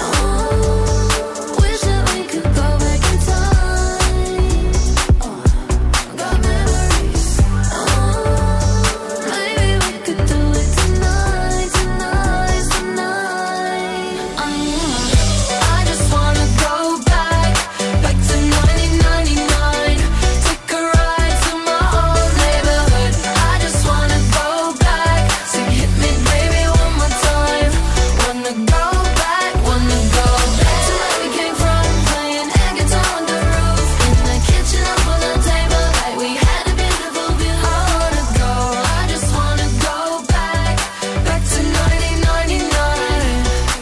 Oh, wish that we could go back in time. Oh, got memories. Oh, maybe we could do it tonight, tonight, tonight. Uh, I just wanna go back, back to nineteen ninety-nine. Take a ride to my old neighborhood. I just wanna go back, sing hit me baby one more time. Wanna go back, wanna go back to where we came from, playing air guitar on the roof, in the kitchen up on the table, like we had a beautiful view. I wanna go, I just wanna go back, back to nineteen ninety-nine.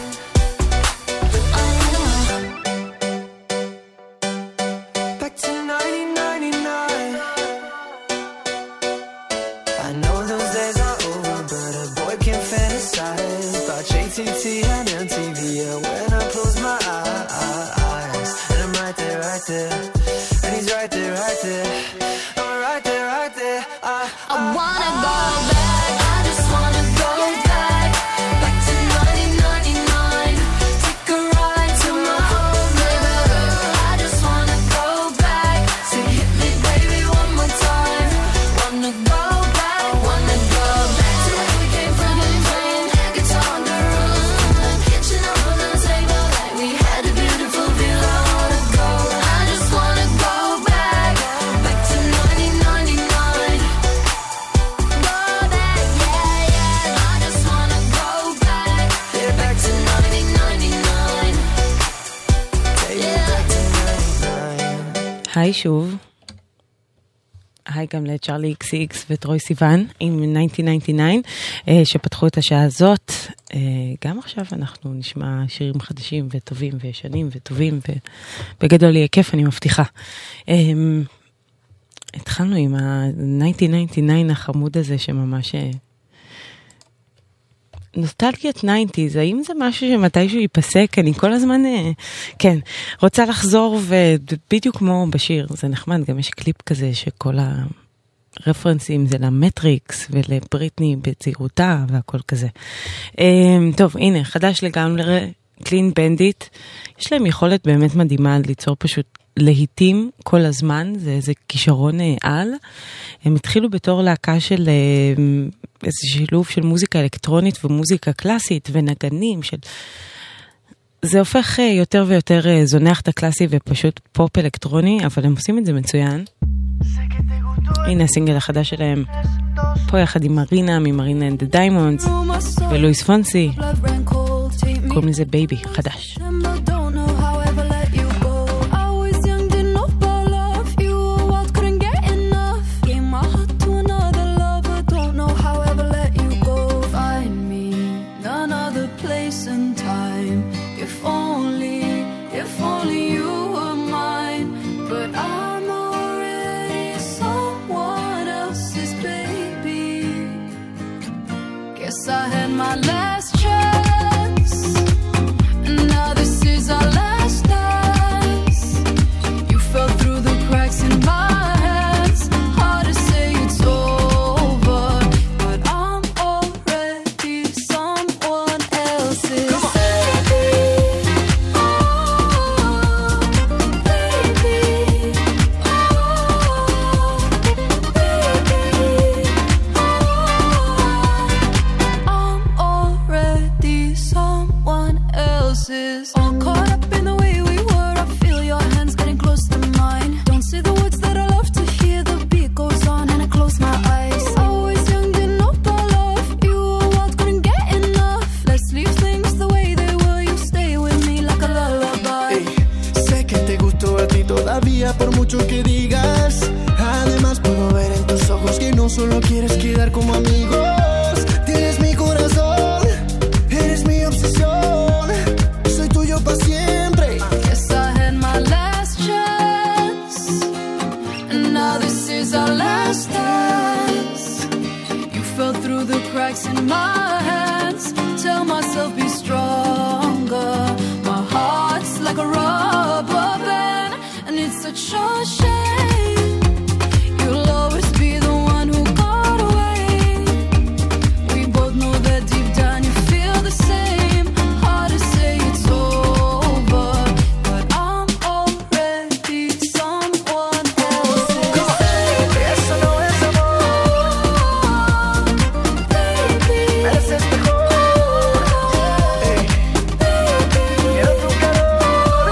back to nineteen ninety-nine. I know those days are over, but a boy can't fantasize about J T T and M T V. Yeah, when I close my eyes, and I'm right there, right there, and he's right there, right there. I'm right there, right there. I, I wanna go back, I just wanna go back, back to nineteen ninety-nine. Take a ride to my old neighborhood. I just wanna go back, sing hit me baby one more time. Wanna go back, היי שוב. היי גם לצ'רלי אקס אקס וטרוי סיוון עם אלף תשע מאות תשעים ותשע שפתחו את השעה הזאת. גם עכשיו אנחנו נשמע שירים חדשים וטובים וישנים וטובים ובגדול יהיה כיף, אני מבטיחה. התחלנו עם ה-אלף תשע מאות תשעים ותשע החמוד הזה שממש נוסטלגיית תשעים, האם זה משהו שמתישהו ייפסק? אני כל הזמן, כן, רוצה לחזור, ובדיוק כמו בשיר, זה נחמד, גם יש קליפ כזה שכל הרפרנסים זה למטריקס ולבריטני בצעירותה והכל כזה. טוב, הנה, חדש לגמרי, קלין בנדיט, יש להם יכולת באמת מדהימה ליצור פשוט להיטים כל הזמן, זה איזה כישרון על. הם התחילו בתור להקה של איזה שילוב של מוזיקה אלקטרונית ומוזיקה קלאסית ונגנים של... זה הופך יותר ויותר זונח את הקלאסי ופשוט פופ אלקטרוני, אבל הם עושים את זה מצוין. הנה הסינגל החדש שלהם, פה יחד עם מרינה, ממרינה and the Diamonds ולואיס פונסי, קוראים לזה בייבי, חדש. I had my last chance, and now this is our last dance. You fell through the cracks in my hands. Hard to say it's over, but I'm already someone else's. Baby, oh, baby, all caught up in the way we were. I feel your hands getting close to mine. Don't say the words that I love to hear. The beat goes on and I close my eyes. Always young, didn't know about love. You were wild, couldn't get enough. Let's leave things the way they were. You stay with me like a lullaby. Hey, sé que te gustó a ti todavía por mucho que digas. Además puedo ver en tus ojos que no solo quieres quedar como amigos. Tienes mi corazón, eres mi obsesión. Pa' siempre. Guess I had my last chance, and now this is our last dance. You fell through the cracks in my hands. Tell myself be stronger. My heart's like a rubber band, and it's such a shame. You'll always be the one who got away. We both know that deep down you feel the same. Hard to say it's over, but I'm already someone else's. Eso no es amor, baby. Mereces mejor, hey. Quiero tu calor.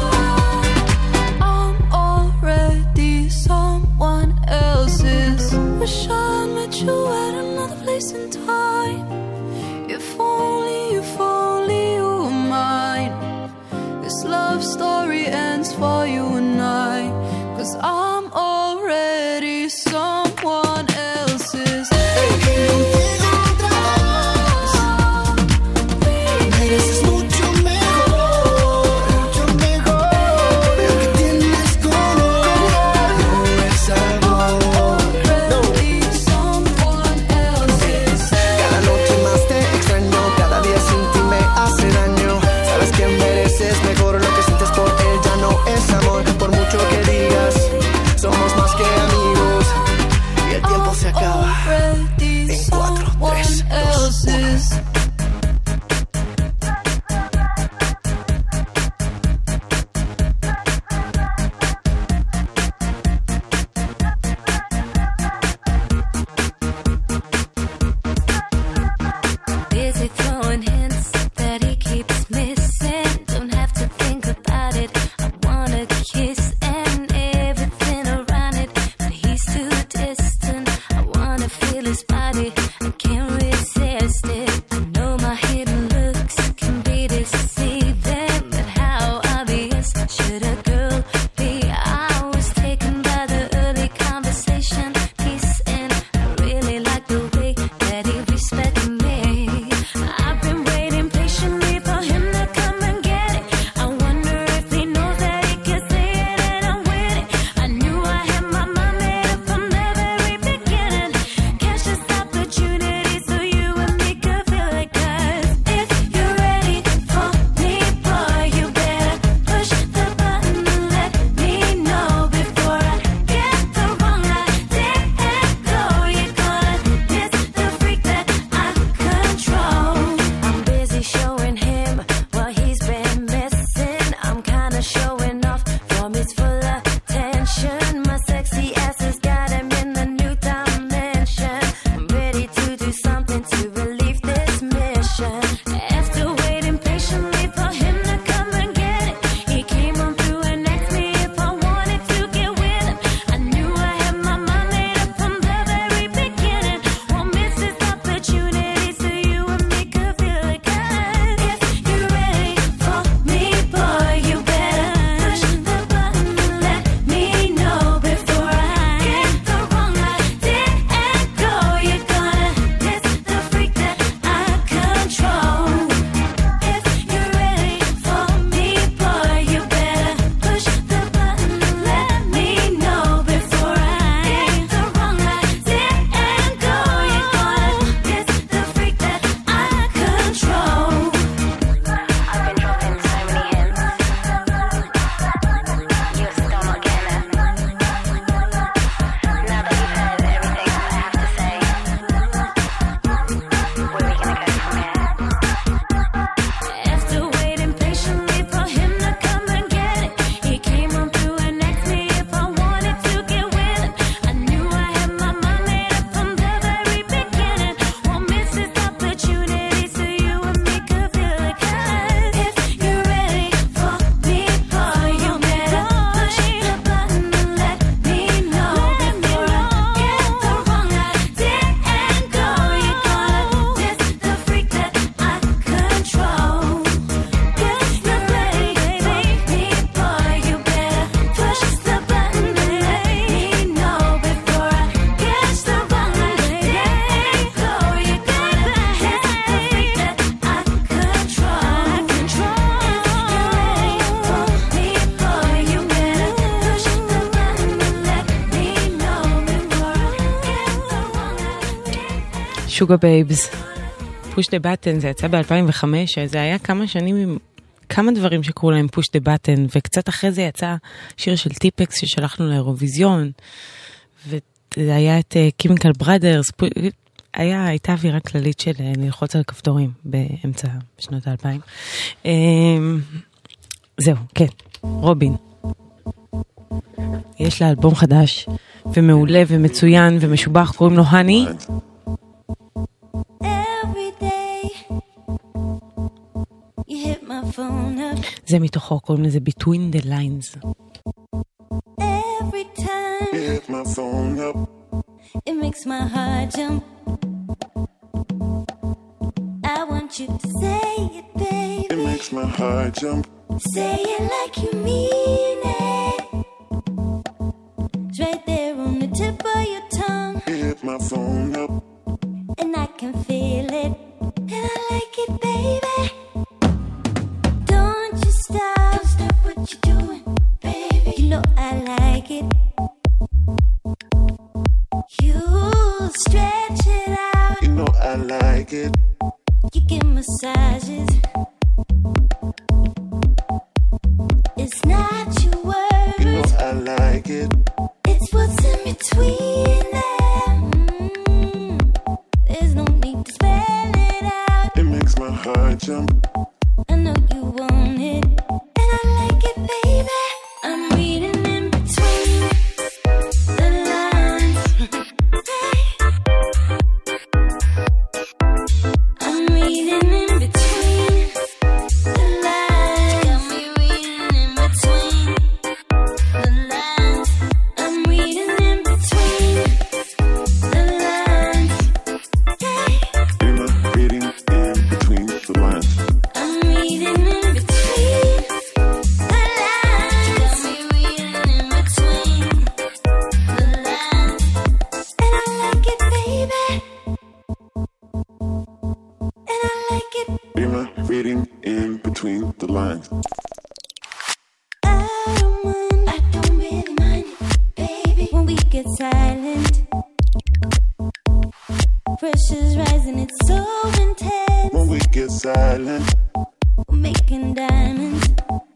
I'm already someone else's. Wish I met you at another place in time. If only, if only you were mine. This love story ends for you and I, 'cause I'm already someone else's. Contigo otra vez. Mereces mucho mejor, mucho mejor. Lo que tienes color, no es amor. Already someone else's. Cada noche más te extraño, cada día sin ti me hace daño. Sabes que mereces mejor, lo que sientes por él ya no es amor. Por mucho que digas, somos más que amigos. Y el tiempo se acaba en cuatro, tres, dos, uno. Busy throwing hints that he keeps missing. Don't have to think about it. I wanna kiss and everything around it, but he's too distant. I wanna feel his body. I can't resist it. שוגה בייבס. פוש דה בטן, זה יצא ב-אלפיים וחמש, זה היה כמה שנים עם כמה דברים שקראו להם פוש דה בטן, וקצת אחרי זה יצא שיר של טיפקס ששלחנו לאירוויזיון, וזה היה את קימיקל בראדרס, היה, הייתה אווירה כללית של ללחוץ על כפתורים באמצע שנות האלפיים. זהו, כן, רובין. יש לה אלבום חדש, ומעולה ומצוין ומשובח, קוראים לו הני. זה מתוכו, קוראים לזה Between the Lines. Every time you hit my phone up, it makes my heart jump. I want you to say it, baby. It makes my heart jump. Say it like you mean it. It's right there on the tip of your tongue. You hit my phone up, and I can feel it, and I like it, baby. Don't you stop, stop what you're doing, baby. You know I like it. You stretch it out. You know I like it. You give massages. It's not your words. You know I like it. It's what's in between them. Mm. There's no need to spell it out. It makes my heart jump. I know you want it, and I like it, baby. I'm reading in between the lines. I'm reading in between the lines. Got me reading in between the lines. I'm reading in between the lines. You're not reading in between the lines. I'm reading in between the lines. Got me reading in between the lines. And I like it, baby. And I like it. You're not reading in between the lines. I don't mind, I don't really mind it, baby. When we get silent, pressure's rising, it's so intense. When we get silent, We're making diamonds.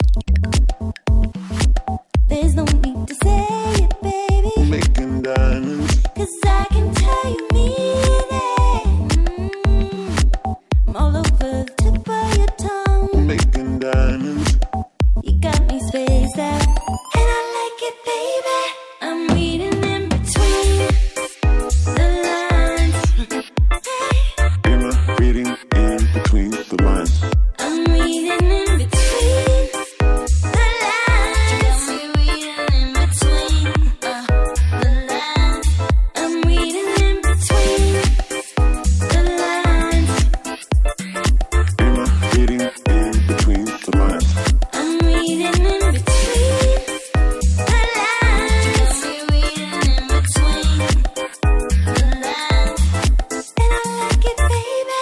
There's no need to say it, baby. we're making diamonds. Cause I can tell you mean it. Mm. I'm all over the tip of your tongue. We're making diamonds. You got me spaced out, and I like it, baby. I'm reading in between the lines. You're not reading in between the lines. I'm reading in between the lines. Got me reading in between uh, the lines. I'm reading in between the lines. You're not reading in between the lines. I'm reading in between the lines. Got me reading in between the lines. And I like it, baby.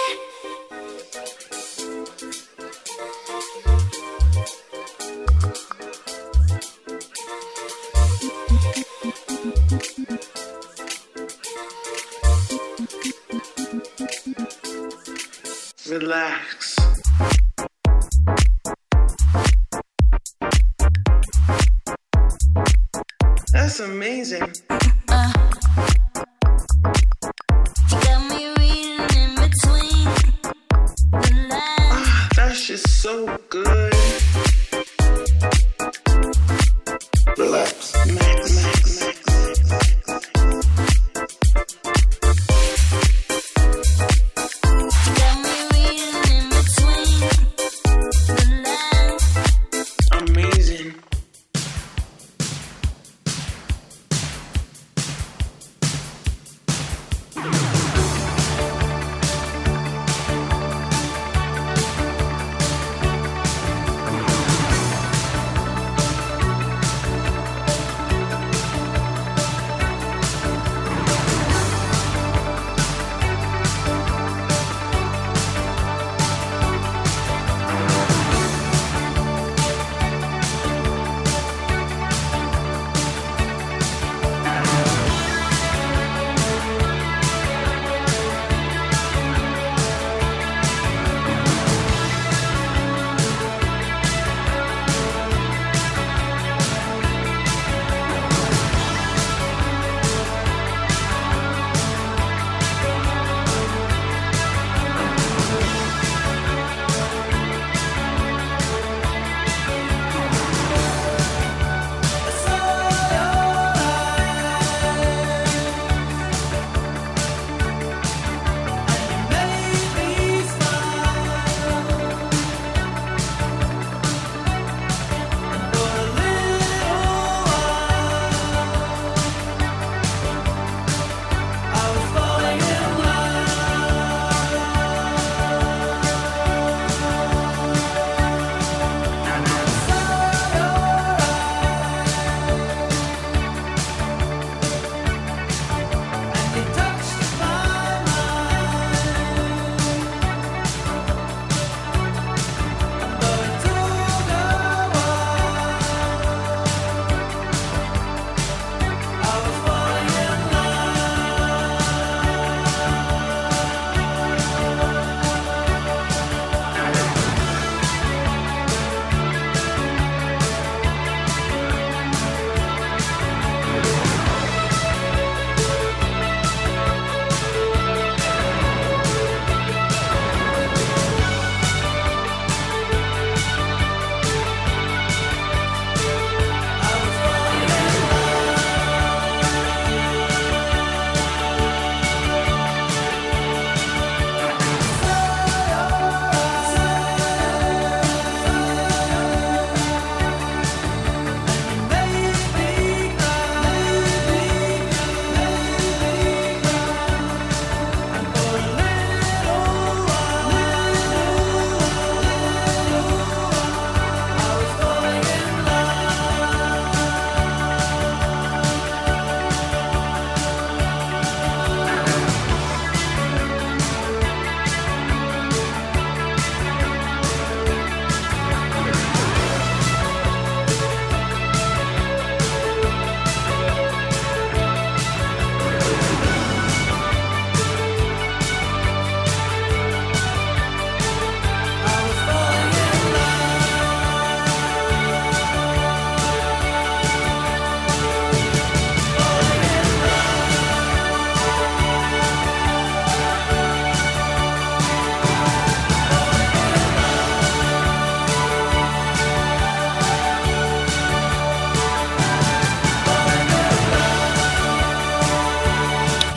Relax. That's amazing. Uh, you got me reading in between the lines. Ah, that's just so good. Relax. Max, max, max. You got me reading in between the lines. Amazing.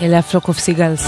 אלה הפלוק אוף סיגלס.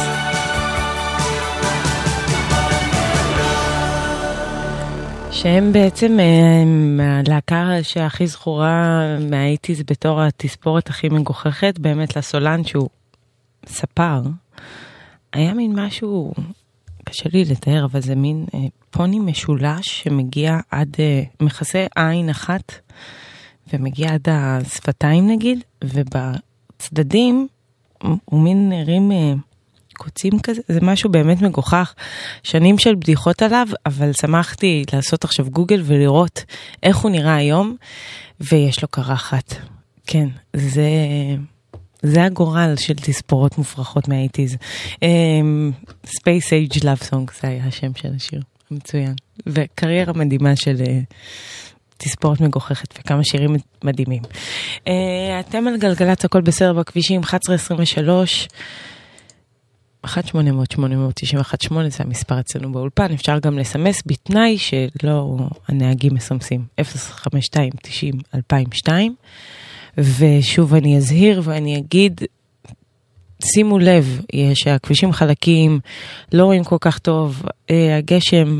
שהם בעצם הלהקה שהכי זכורה מהאיטיז בתור התספורת הכי מגוחכת, באמת לסולן שהוא ספר, היה מין משהו, קשה לי לתאר, אבל זה מין אה, פוני משולש שמגיע עד, אה, מכסה עין אחת, ומגיע עד השפתיים נגיד, ובצדדים הוא מין נראים אה, קוצים כזה, זה משהו באמת מגוחך, שנים של בדיחות עליו, אבל שמחתי לעשות עכשיו גוגל ולראות איך הוא נראה היום, ויש לו קרחת. כן, זה... זה הגורל של תספורות מופרכות מהאיטיז. Space Age Love Song, זה היה השם של השיר. מצוין. וקריירה מדהימה של תספורת מגוחכת, וכמה שירים מדהימים. אתם על גלגלת, הכל בסדר בכבישים, אחת עשרה עשרים ושלוש, אחת שמונה אפס אפס שמונה תשע אחת שמונה, זה המספר אצלנו באולפן. אפשר גם לסמס בתנאי שלא הנהגים מסמסים. אפס חמש שתיים תשעים אלפיים ושתיים. ושוב אני אזהיר ואני אגיד, שימו לב, שהכבישים חלקים, לא רואים כל כך טוב, הגשם,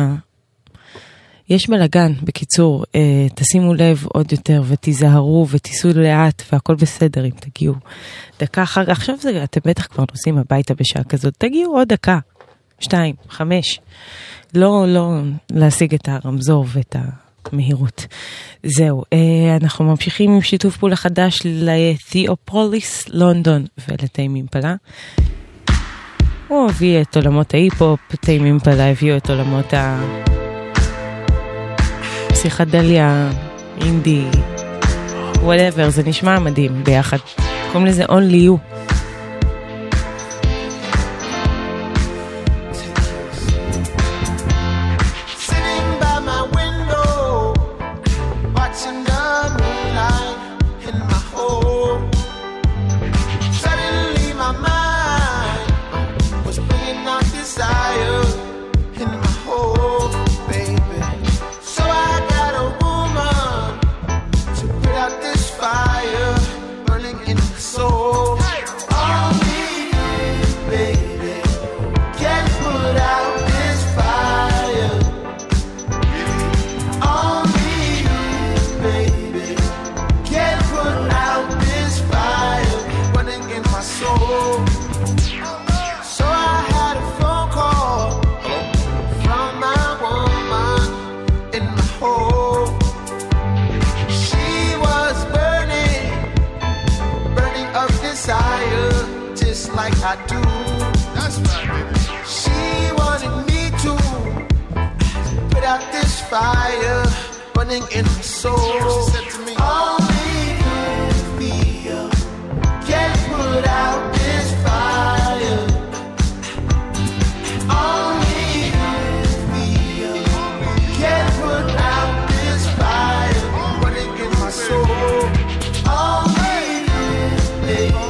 יש בלגן, בקיצור, תשימו לב עוד יותר ותיזהרו ותיסעו לאט והכל בסדר אם תגיעו דקה אחר כך. עכשיו זה, אתם בטח כבר נוסעים הביתה בשעה כזאת, תגיעו עוד דקה, שתיים, חמש, לא, לא להשיג את הרמזור ואת ה... מהירות. זהו, אנחנו ממשיכים עם שיתוף פעולה חדש לתיאופוליס, לונדון, ולטיים אימפלה. הוא הביא את עולמות ההיפ-הופ, טיים אימפלה הביאו את עולמות הפסיכדליה, אינדי, whatever, זה נשמע מדהים ביחד. קוראים לזה Only You. I do. That's right, baby. She wanted me to put out this fire burning in my soul. She said to me, only you feel can put out this fire. Only you feel can put out this fire burning in my soul. Only you, baby.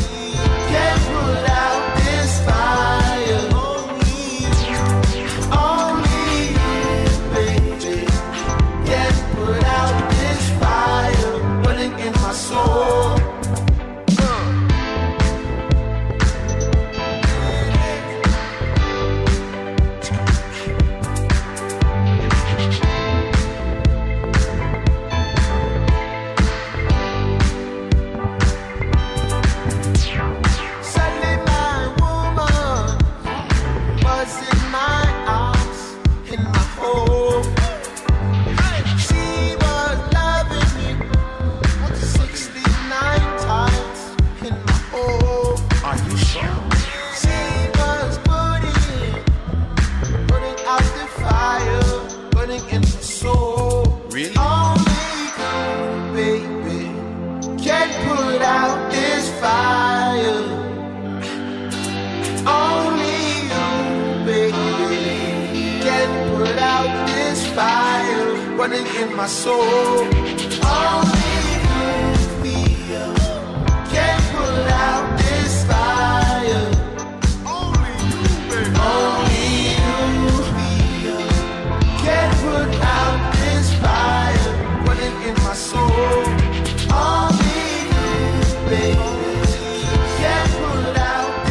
Running in my soul. Only you feel can put out this fire. Only you, baby. Only you feel can put out this fire. Running in my soul. Only you, baby, can put out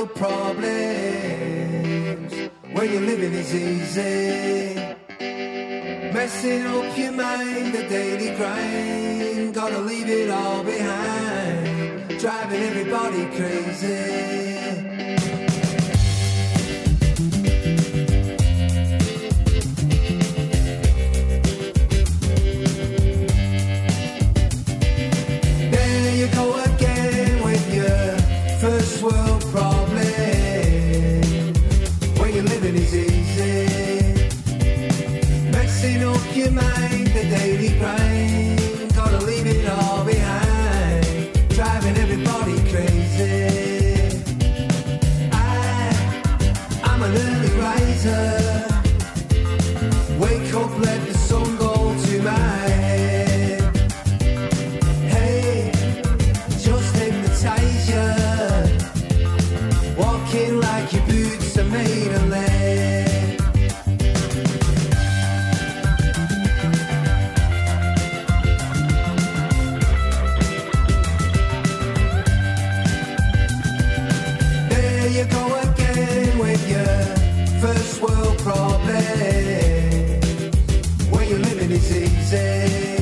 world problems. Where you're living is easy. Messing up your mind, the daily grind. Gotta leave it all behind. Driving everybody crazy. World problem. Where you're living is easy. Messing up your mind, the daily grind. Gotta leave it all behind. Driving everybody crazy. I, I'm an early riser. Wake up, let the sun go to my head. Hey, just hypnotize you. Walking like your boots are made of lead. There you go again with your first world problem. Where you're living is easy.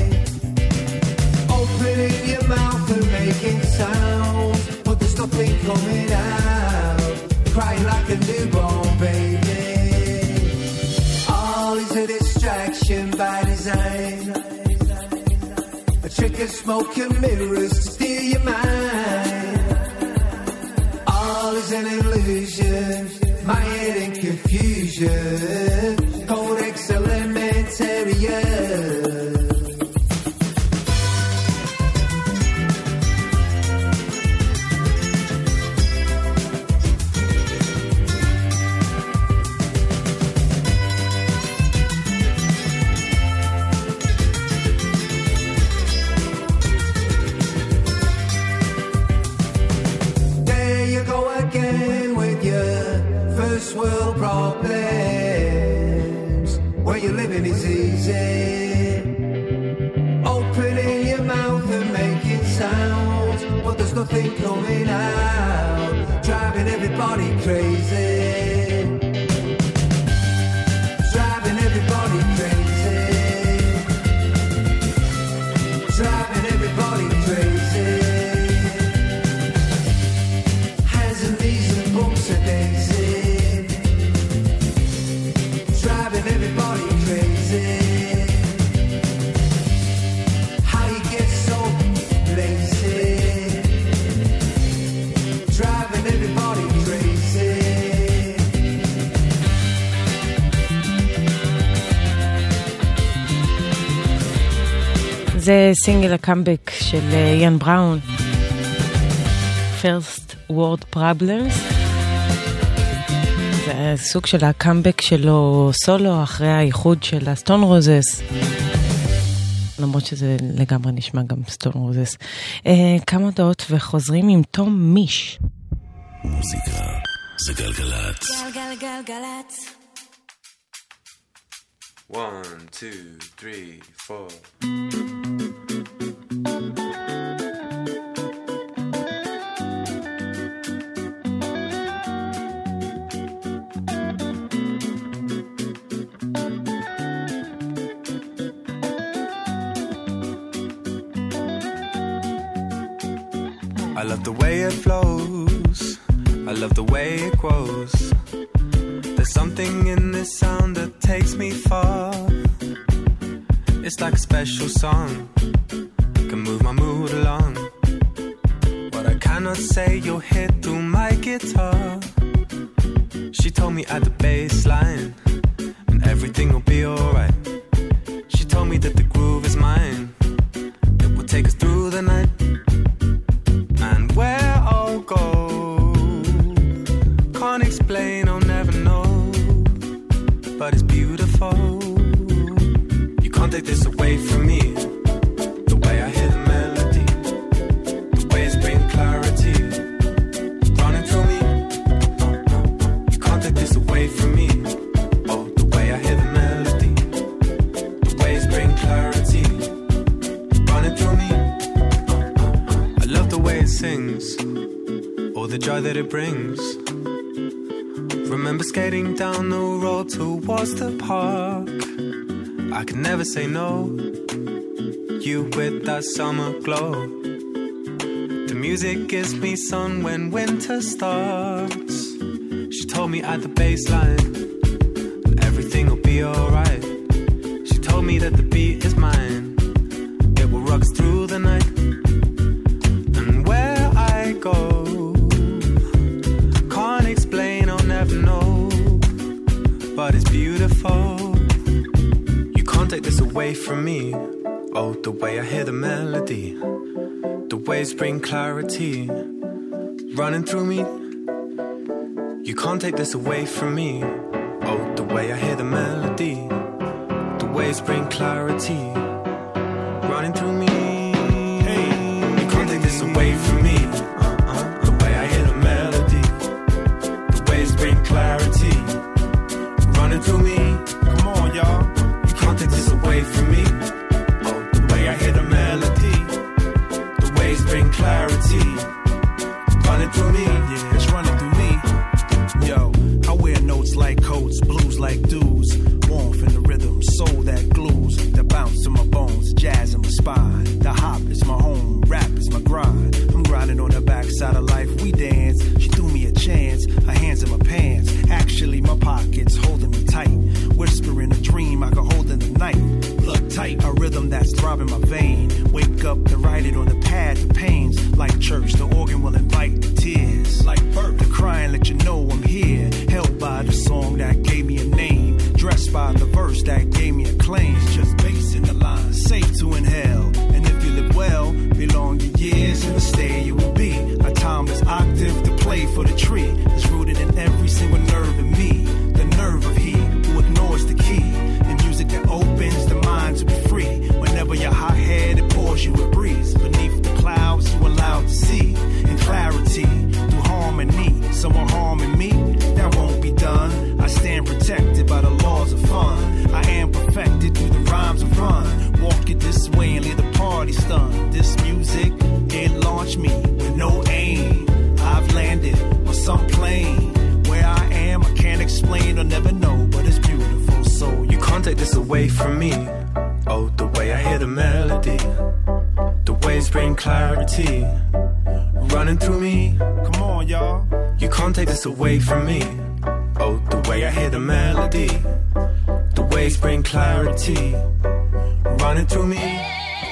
Opening your mouth and making sounds, but there's nothing coming out. Crying like a newborn baby. All is a distraction by design. A trick of smoke and mirrors to steal your mind. All is an illusion, my head in confusion. Codex Elementarian. World problems. Where you're living is easy. Opening your mouth and making sounds, but there's nothing coming out. Driving everybody crazy. Driving everybody crazy. Driving everybody crazy. Hands and knees and bumps and daisy. Everybody crazy. How you get so lazy? Driving everybody crazy. זה סינגל הקאמבק של יאן בראון, First World Problems. זה סוג של הקאמבק שלו סולו אחרי האיחוד של הסטון רוזס, למרות שזה לגמרי נשמע גם סטון רוזס. אה, כמה דעות וחוזרים עם תום מיש. מוזיקה זה גלגלת. גלגלגלגלת. One, two, three, four. I love the way it flows, I love the way it grows. There's something in this sound that takes me far. It's like a special song, can move my mood along. What I cannot say you'll hear through my guitar. She told me at the bass line, and everything will be alright. She told me that the groove is mine, it will take us through the night. And where I'll go, can't explain, I'll never know, but it's beautiful. You can't take this away from me. The way I hear the melody, the way it's bringing clarity, it's running through me. You can't take this away from me. Oh, the way I hear the melody, the way it's bringing clarity, it's running through me. I love the way it sings, all the joy that it brings. Remember skating down the road towards the park. I could never say no. You with that summer glow. The music gives me sun when winter starts. She told me at the baseline everything will be alright. She told me that the beat is mine. It will rock us through the night. And where I go, can't explain, I'll never know. But it's beautiful. You can't take this away from me. Oh, the way I hear the melody, the waves bring clarity running through me. You can't take this away from me. Oh, the way I hear the melody, the waves bring clarity running through me. Hey, you can't take this away from me. Uh-uh. The way I hear the melody, the waves bring clarity running through me. Come on, y'all. You can't take this away from me. Oh, the way I hear the melody, the waves bring clarity running through me. Yeah, it's running through me. Yo, I wear notes like coats, blues like dudes. Warmth in the rhythm, soul that glues. The bounce to my bones, jazz in my spine. The hop is my home, rap is my grind. I'm grinding on the backside of life, we dance. She threw me a chance, her hands in my pants. Actually, my pockets holding me tight. Whispering a dream I could hold in the night. Look tight, a rhythm that's throbbing my vein. Wake up to write it on the pad, the pains. Like church, the organ will invite the tears. Like birth, the crying let you know I'm here. Held by the song that gave me a name. Dressed by the verse that gave me a claim. Just bass in the line, safe to inhale. And if you live well, belong your years in the stay you will be. A timeless octave to play for the tree. It's rooted in every single nerve in me. The nerve of he who ignores the key. The music that opens the mind to be free. Whenever you're hot-headed, pours you a breeze. Beneath the clouds you allowed to see. In clarity, through harmony. Someone harming me, that won't be done. I stand protected by the laws of fun. I am perfected through the rhymes of run. Walk it this way and leave the party stunned. This music, it launched me with no aim. I've landed on some plane. Where I am, I can't explain or never know, but it's beautiful. So you can't take this away from me. Oh, the way I hear the melody, the waves bring clarity running through me. Come on, y'all. You can't take this away from me. Oh, the way I hear the melody, the waves bring clarity running through me. Yeah,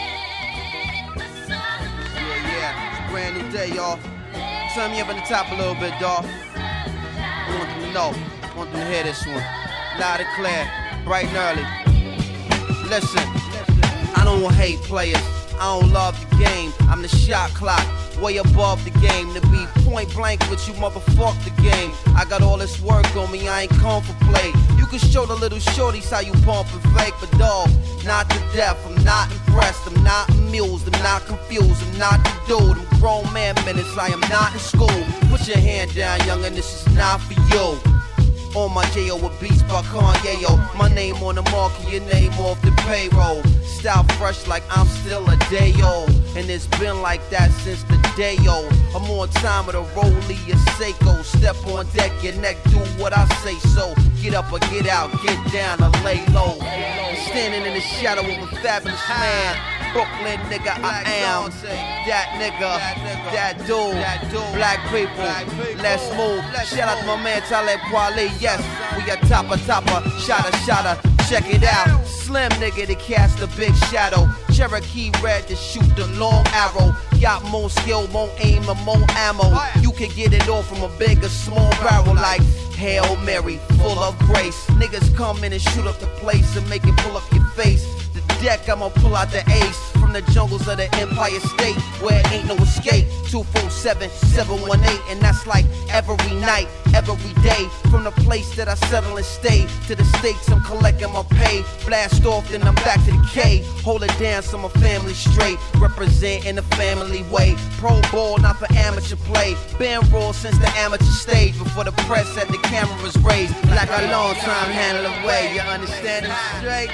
yeah, it's a brand new day, y'all. Turn me up on the top a little bit, dawg. I want them to know, I want them to hear this one. Loud and clear, bright and early. Listen, I don't hate players, I don't love the game. I'm the shot clock, way above the game. To be point blank with you, motherfuck the game. I got all this work on me, I ain't come for play. You can show the little shorties how you pump and fake, but dog, not to death. I'm not impressed, I'm not amused, I'm not confused, I'm not the dude. I'm grown man minutes, I am not in school. Put your hand down, youngin', this is not for you. On my J O with beats by Kanye, yo. My name on the market, your name off the payroll. Style fresh like I'm still a day old. And it's been like that since the day old. I'm on time with a rollie, a Seiko. Step on deck, your neck, do what I say so. Get up or get out, get down or lay low. Standing in the shadow of a fabulous man. Brooklyn nigga, I am that nigga, that dude, black people, let's move. Shout out to my man Talib Kweli, yes, we a topper, topper, shotter, shotter, check it out. Slim nigga to cast a big shadow, Cherokee red to shoot the long arrow. Got more skill, more aim, and more ammo. You can get it all from a big or small barrel like Hail Mary, full of grace. Niggas come in and shoot up the place and make it pull up your face. Deck, I'ma pull out the ace from the jungles of the Empire State where ain't no escape. Two four seven, seven one eight, and that's like every night, every day. From the place that I settle and stay to the states, I'm collecting my pay. Blast off, then I'm back to the K. Hold it down so my family straight. Represent in the family way. Pro ball, not for amateur play. Been raw since the amateur stage. Before the press had the cameras raised. Like a long time handle away. You understand it straight?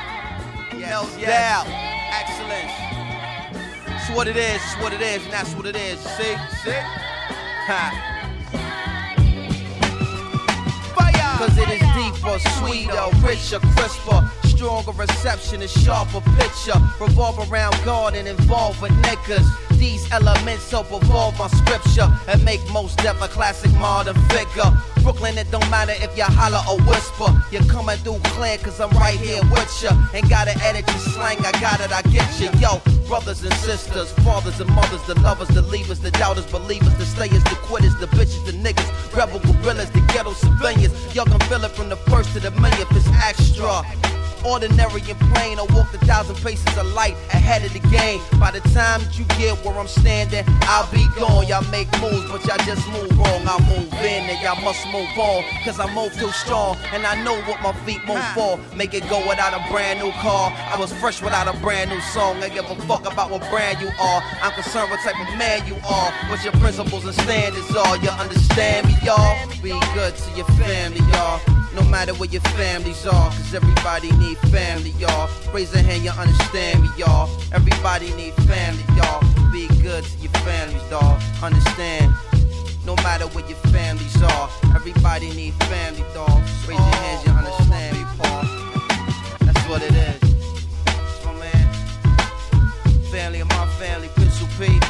No doubt. Excellence. It's what it is, it's what it is, and that's what it is. See? See? Cause it is deeper, sweeter, richer, crisper, stronger reception, a sharper picture. Revolve around God and involve with niggas. These elements help evolve my scripture and make most death a classic modern figure. Brooklyn, it don't matter if you holler or whisper. You're coming through clear cause I'm right here with ya. Ain't gotta edit your slang, I got it, I get you. Yo, brothers and sisters, fathers and mothers, the lovers, the leavers, the doubters, believers, the stayers, the quitters, the bitches, the niggas, rebel gorillas, the ghetto civilians. Y'all can feel it from the first to the millionth, it's extra. Ordinary and plain, I walk a thousand paces of light ahead of the game. By the time that you get where I'm standing, I'll be gone. Y'all make moves, but y'all just move wrong. I move in and y'all must move on. Cause I move too strong, and I know what my feet move for. Make it go without a brand new car. I was fresh without a brand new song. I give a fuck about what brand you are. I'm concerned what type of man you are. What your principles and standards are. You understand me, y'all? Be good to your family, y'all. No matter where your families are, cause everybody need family, y'all. Raise a hand, you understand me, y'all. Everybody need family, y'all. Be good to your families, dawg. Understand. No matter where your families are, everybody need family, dawg. Raise your hands, you understand me, Paul. That's what it is. That's my man. Family of my family, Pencil P.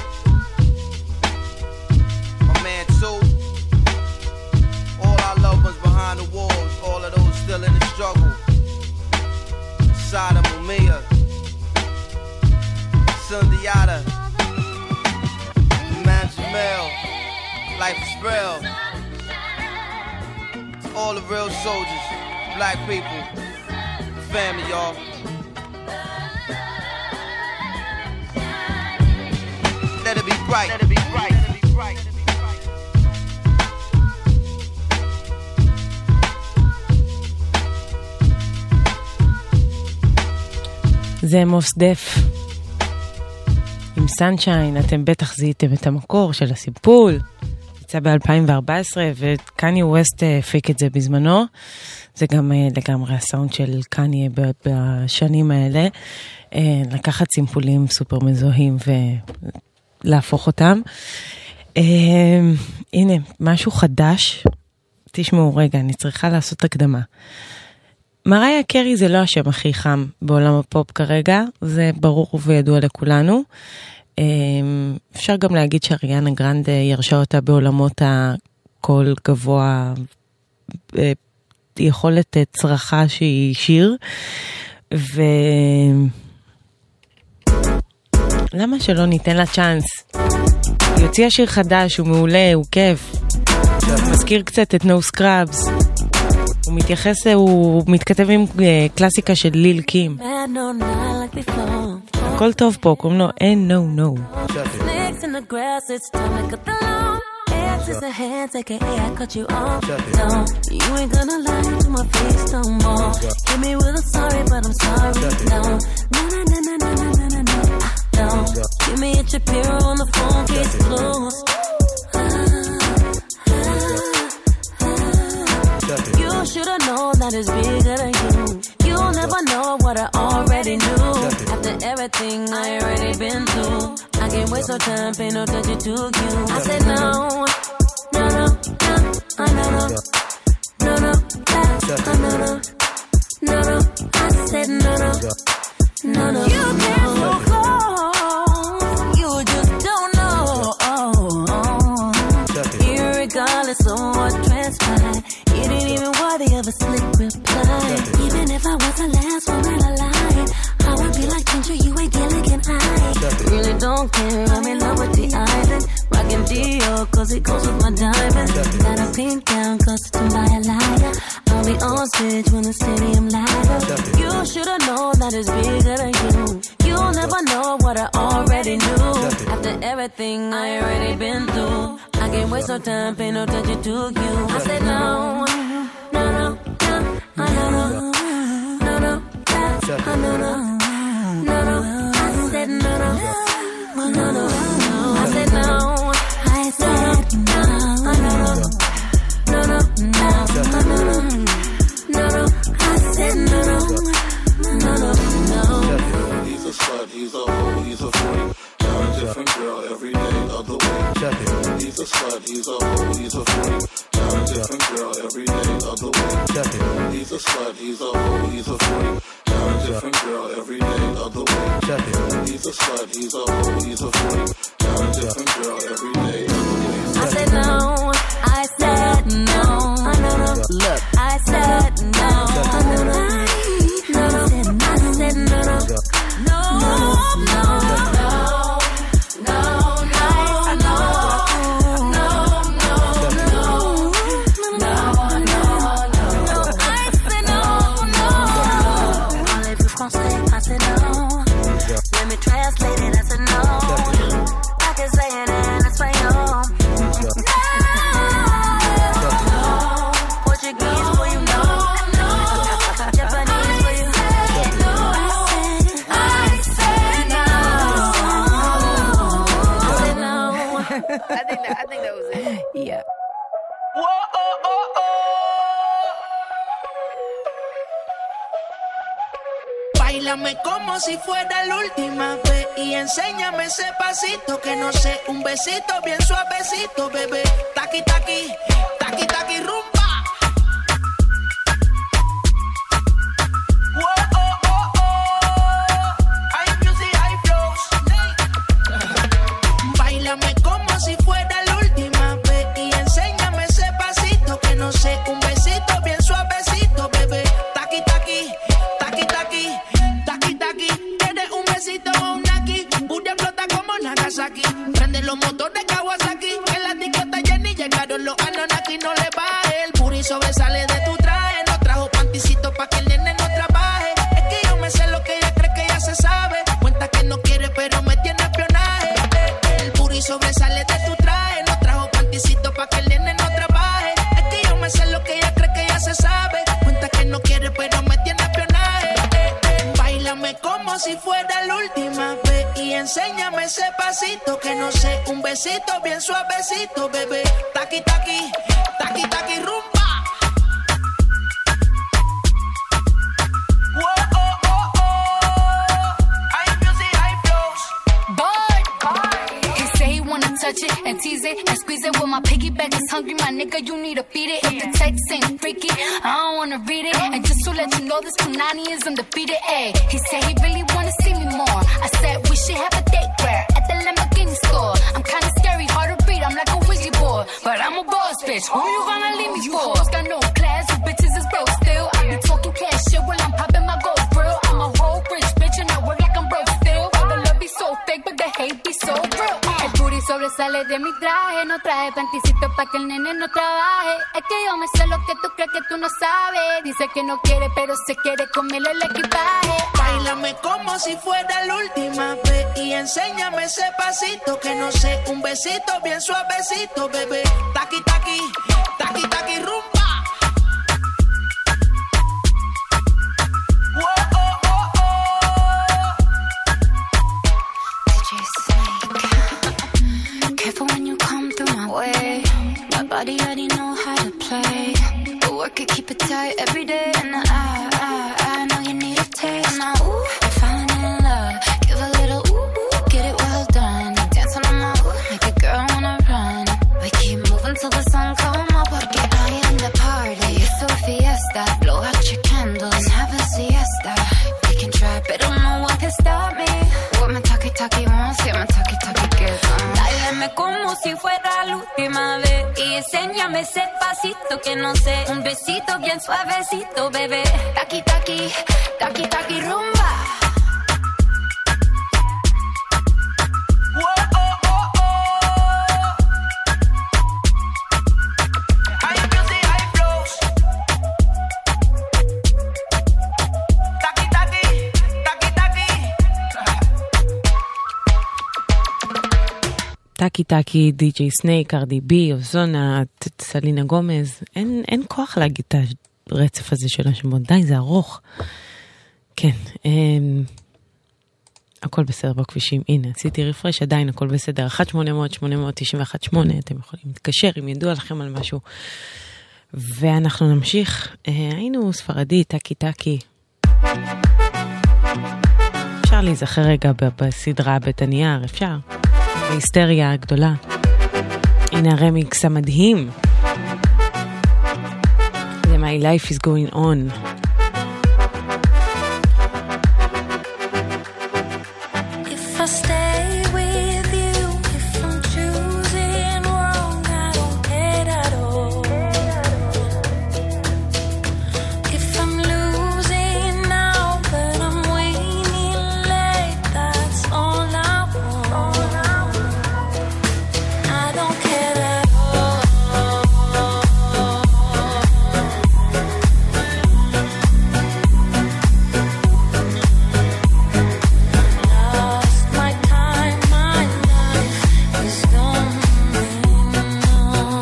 My man, too. All our loved ones behind the walls, all of those still in the struggle. Sada Mumia, Sundiata, Man Jamel, Life is Real. To all the real soldiers, black people, family, y'all. Let it be bright, let it be bright, let it be bright. זה מוס דף עם סנשיין. אתם בטח זיהיתם את המקור של הסיפול, יצא ב-אלפיים וארבע עשרה וקניה ווסט הפיק את זה בזמנו. זה גם לגמרי הסאונד של קניה בשנים האלה, לקחת סימפולים סופר מזוהים ולהפוך אותם. הנה משהו חדש, תשמעו רגע, אני צריכה לעשות הקדמה. מריה קרי זה לא השם הכי חם בעולם הפופ כרגע, זה ברור וידוע לכולנו. אפשר גם להגיד שאריאנה גרנדה ירשה אותה בעולמות הקול גבוה, יכולת צרחה שהיא שיר, ו... למה שלא ניתן לה צ'אנס? היא הוציאה שיר חדש, הוא מעולה, הוא כיף. מזכיר קצת את No Scrubs. הוא מתייחס, הוא מתכתב עם קלאסיקה של ליל קים. הכל טוב פה, קוראים לו אין נו נו. Is a hand, take a I cut you off. No, you ain't gonna lie to my face no more. Hit me with a sorry, but I'm sorry. No, no, no, no, no, no, no, no, no. No, give me a Shapiro on the phone, case closed. You should've known that it's bigger than you. You'll never know what I already knew. After everything I already been through, I can't waste no time, pay no attention to you. I said no, no, no, no, no, no, no, no, no, no, no, no, no. I said no, no, no, no. You came so close, you just don't know. Irregardless of what transpired, you didn't even worthy of a slick reply. Even if I was the last woman alive, I would be like Ginger, you ain't Gilligan Eye. Really don't care, I'm in love with the island. Rockin' Dior, cause it goes with my diamonds. Got a pink gown, custom by a liar. I'll be on stage when the stadium light up. You should've known that it's bigger than you. You'll never know what I already knew. After everything I already been through, I can't waste no time, pay no attention to you. I said no, no, no, no, no, no, no, no, no, no, no, no, no. I said no, no, no, no, no. I said no, I said no, no, no, no, no, no, no, no, no. I said no, no, no, no, no. He's a slut, he's a hoe, he's a freak. Got a different girl every day of the week. He's a slut. slut, he's a hoe, he's a freak. Got a different girl every day of the week. He's a slut, he's a hoe, he's a freak. Got a different girl every day of the week. He's a slut, he's a hoe, he's a freak. Got a different girl every day of the week. I said no, I said no. Look, I said no. I said no, I said no, no, no, no, no, I said no, no, no, no, no, no, I said no, no. Parlez-vous français? I said no. Let me translate it. I said no. I can say it in Espanol. Portuguese for you know. Japanese for you. I said no. I said no. I think that, I think that was it. Yeah. Whoa, oh, oh, oh. Báilame como si fuera la última vez y enséñame ese pasito que no sé, un besito bien suavecito, bebé. Taqui, taqui, taqui, taqui, rumba. Whoa, oh, oh, oh. Hay music, hay flows. Báilame como si fuera la última vez y enséñame ese pasito que no sé, un besito bien suavecito, bebé. Taqui, taqui, taqui, taqui, taqui, taqui. Tienes un besito o un aquí, Buria flota como Nagasaki. Prende los motores Kawasaki, en la discota Jenny llegaron los Anunnaki. No le baje, el booty sobresale de tu traje. No trajo panticito pa' que el nene no trabaje. Es que yo me sé lo que ella cree que ya se sabe. Cuenta que no quiere pero me tiene espionaje. El booty sobresale de tu traje. No trajo panticito pa' que el nene no trabaje. Es que yo me sé lo que ella cree que ya se sabe. Cuenta que no quiere pero me tiene espionaje. Báilame como si fuera la última vez y enséñame ese pasito que no sé, un besito bien suavecito, bebé. Taqui, taqui, taqui, taqui, rumba. Whoa, oh, oh, oh. Hay music, hay flows. Boy, he say he wanna touch it and tease it and squeeze it. Well, my piggyback is hungry, my nigga, you need to feed it. If the text ain't freaky, I don't wanna read it. And just to let you know, this Punani is undefeated. Ay, he said he really wanna see me more. I said we should have a date where at the Lamborghini store. I'm kinda scary, hard to read, I'm like a Ouija board, but I'm a boss bitch. Who you gonna leave me for? Hoes got no class, you bitches is broke still. I be talking cash shit while I'm popping my gold grill. I'm a whole rich bitch and I work like I'm broke still. All the love be so fake, but the hate be so real. El booty sobresale de mi traje, no traje panticito pa' que el nene no trabaje. Es que yo me sé lo que tú crees que tú no sabes. Dice que no quiere, pero se quiere comerle el equipaje. Báilame como si fuera la última vez y enséñame ese pasito que no sé, un besito bien suavecito, bebé. Taqui, taqui, taqui, taqui, rumba. Whoa, oh, oh, oh. D J Snake. Careful when you come through my way. My body already know how to play. But work it, keep it tight every day. And I, I, I know you need a taste. Now, ooh, I'm falling in love. Give a little ooh, ooh, get it well done. Dance on my ooh, make a girl wanna run. We keep moving till the sun come up. Porque I am the party. It's a fiesta. Blow out your candles and have a siesta. We can try, but don't know what can stop me. What my talkie talkie wants, yeah, my talkie talkie gets on. Báilame como si fuera la última vez y enséñame ese pasito que no sé, un besito bien suavecito, bebé. Taqui taqui, taqui taqui rumba. Whoa, oh, oh, oh. Hay music, hay flows. Taqui, taqui, taqui, taqui. טאקי טאקי, די ג'יי סנייק, ארדי בי, אוזונה, סלינה גומז. אין, אין כוח להגיד את הרצף הזה של השמות. די, זה ארוך. כן. אמ, הכל בסדר בכבישים. הנה, עשיתי רפרש, עדיין הכל בסדר. אחת שמונה אפס אפס שמונה תשע אחת שמונה, אתם יכולים להתקשר אם ידוע לכם על משהו. ואנחנו נמשיך. אה, היינו ספרדי, טאקי טאקי. אפשר להיזכר רגע בסדרה בית הנייר, אפשר. בהיסטריה הגדולה. הנה הרמיקס המדהים. זה My Life is Going On. If I stay with you, if I'm choosing wrong, I don't care at all. If I'm losing now, but I'm winning late, that's all I want. I don't care at all. Lost my time, my life is going on.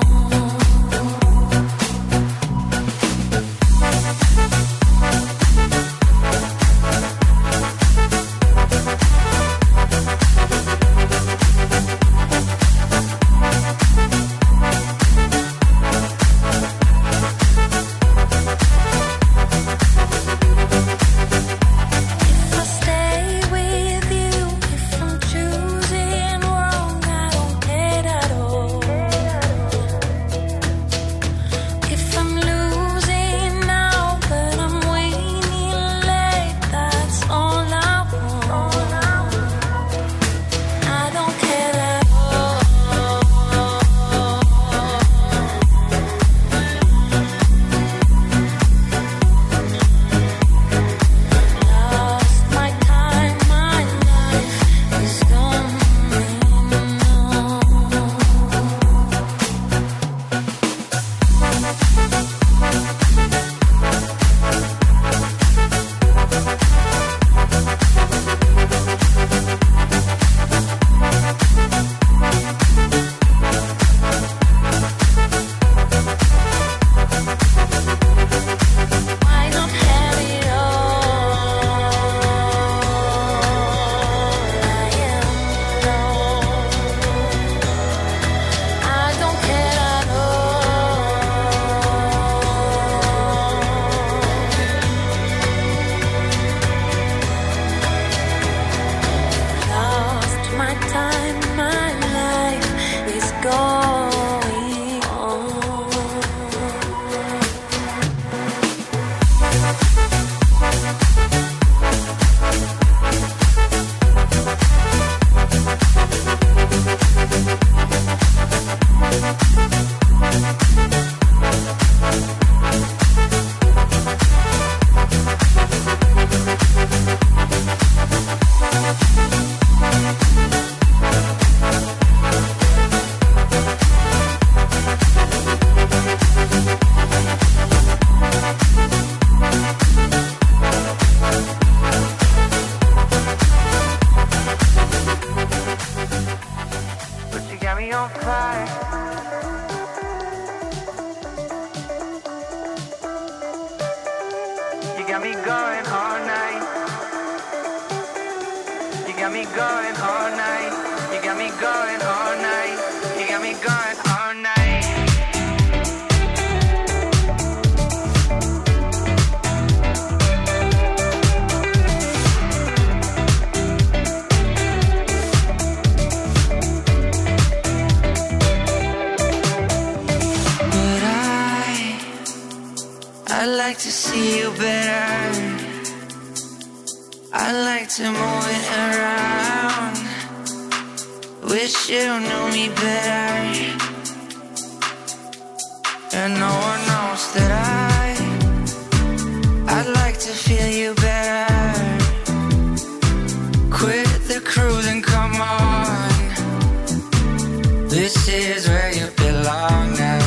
If I stay with you, if I'm choosing wrong, I don't care at all. If I'm losing now, but I'm winning late, that's all I want. I don't care at all. Lost my time, my life is going on. I don't have it all. I am alone. I don't care at all. Lost my time, my life is going on. But you got me on fire. You got me going all night. You got me going all night. You got me going all night. You got me going all night. But I, I like to see you better. I like to move it around. Wish you knew me better. And no one knows that I, I'd like to feel you better. Quit the cruise and come on. This is where you belong now.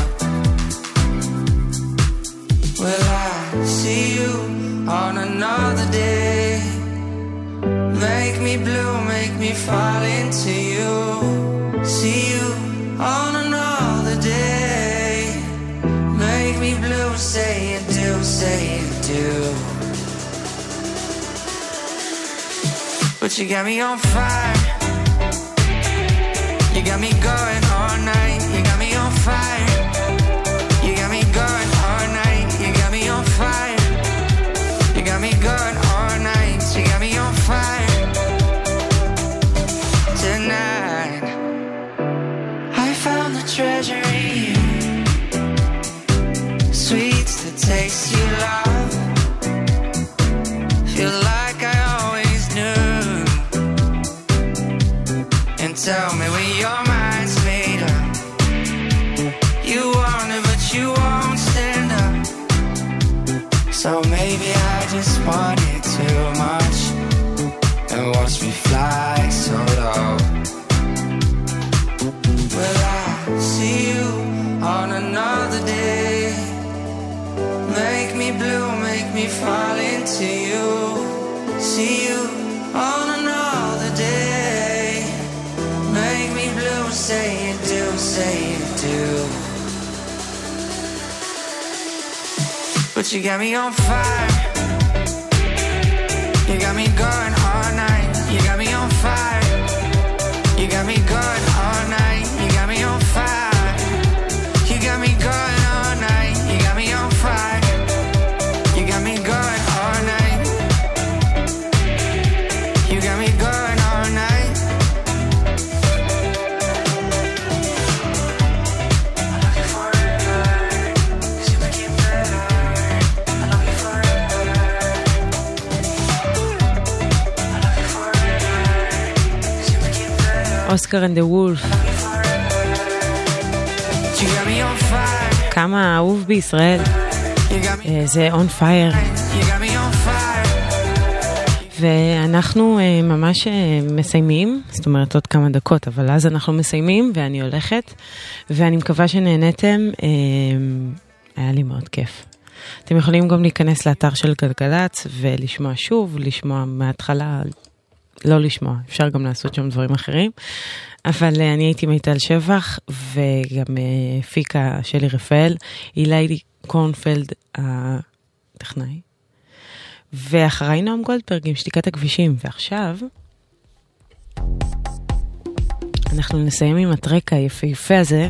Will I see you on another day? Make me blue, make me fall into you. See you on another day. Make me blue, say you do, say you do. But you got me on fire. You got me going all night. You got me on fire. You got me going all night. You got me on fire. You got me going all night. You got me on fire. Tonight I found the treasure. So maybe I just want it too much and watch me fly so low. Will I see you on another day? Make me blue, make me fall into you. See you on another day. Make me blue, say you do, say you do. But you got me on fire. You got me going all night. You got me on fire. You got me going all night. You got me on fire. You got me going all night. You got me on fire. You got me going all night. You got me going all night. I love you forever, 'cause you make it better. I love you forever. I love you forever, 'cause you make it better. אוסקר אנד דה וולף. You got me on fire. כמה אהוב בישראל. אה, זה on fire. You got me on fire. ואנחנו אה, ממש אה, מסיימים, זאת אומרת עוד כמה דקות, אבל אז אנחנו מסיימים ואני הולכת, ואני מקווה שנהנתם, אה, היה לי מאוד כיף. אתם יכולים גם להיכנס לאתר של גלגלץ ולשמוע שוב, לשמוע מההתחלה, לא לשמוע, אפשר גם לעשות שם דברים אחרים, אבל uh, אני הייתי מיטל שבח, וגם uh, פיקה שלי רפאל, אילי קורנפלד הטכנאי, ואחריי נועם גולדברג עם שתיקת הכבישים, ועכשיו אנחנו נסיים עם הטרק היפהפה הזה,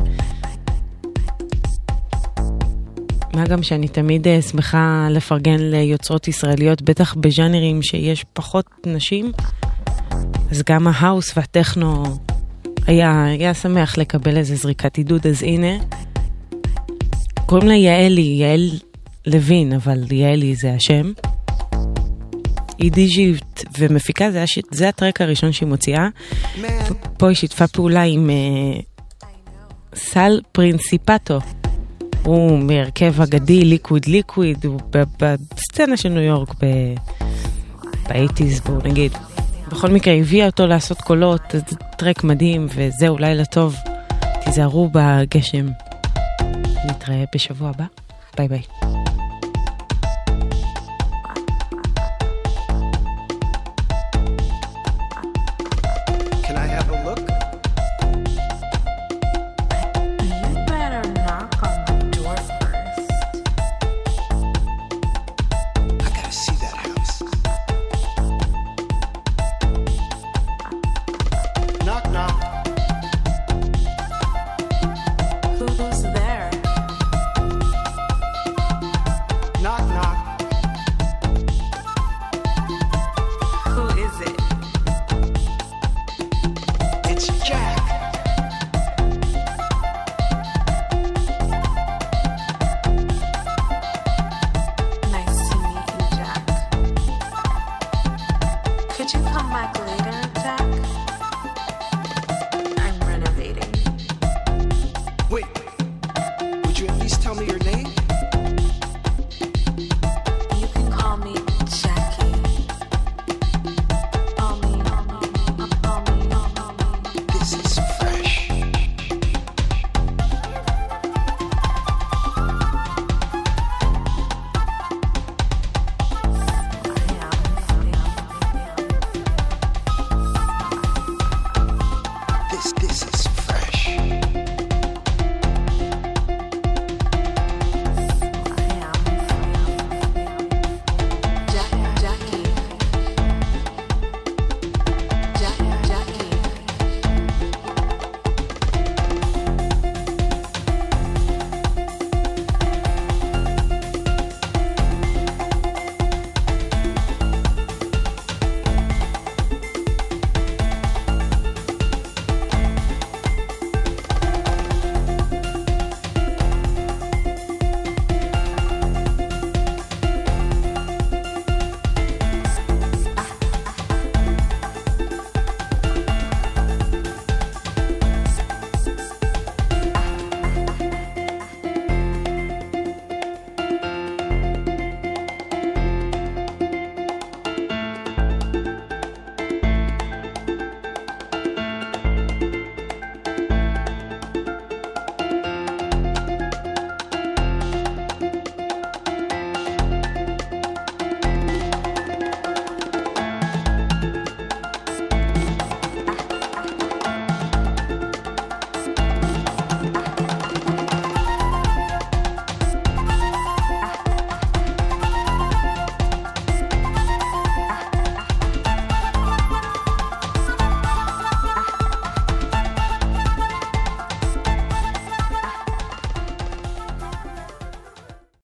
מה גם שאני תמיד uh, שמחה לפרגן ליוצרות ישראליות, בטח בז'אנרים שיש פחות נשים, אז גם ההאוס והטכנו היה, היה שמח לקבל איזה זריקת עידוד, אז הנה, קוראים לה יעלי, יעל לוין, אבל יעלי זה השם. היא דיג'ית ומפיקה, זה, הש... זה הטרק הראשון שהיא מוציאה. פה היא שיתפה פעולה עם uh, סל פרינסיפטו. הוא מהרכב אגדי, ליקוויד ליקוויד, הוא בסצנה של ניו יורק ב-שמונים, בואו נגיד. בכל מקרה, הביאה אותו לעשות קולות, טרק מדהים, וזהו, לילה טוב. תיזהרו בגשם. נתראה בשבוע הבא. ביי ביי.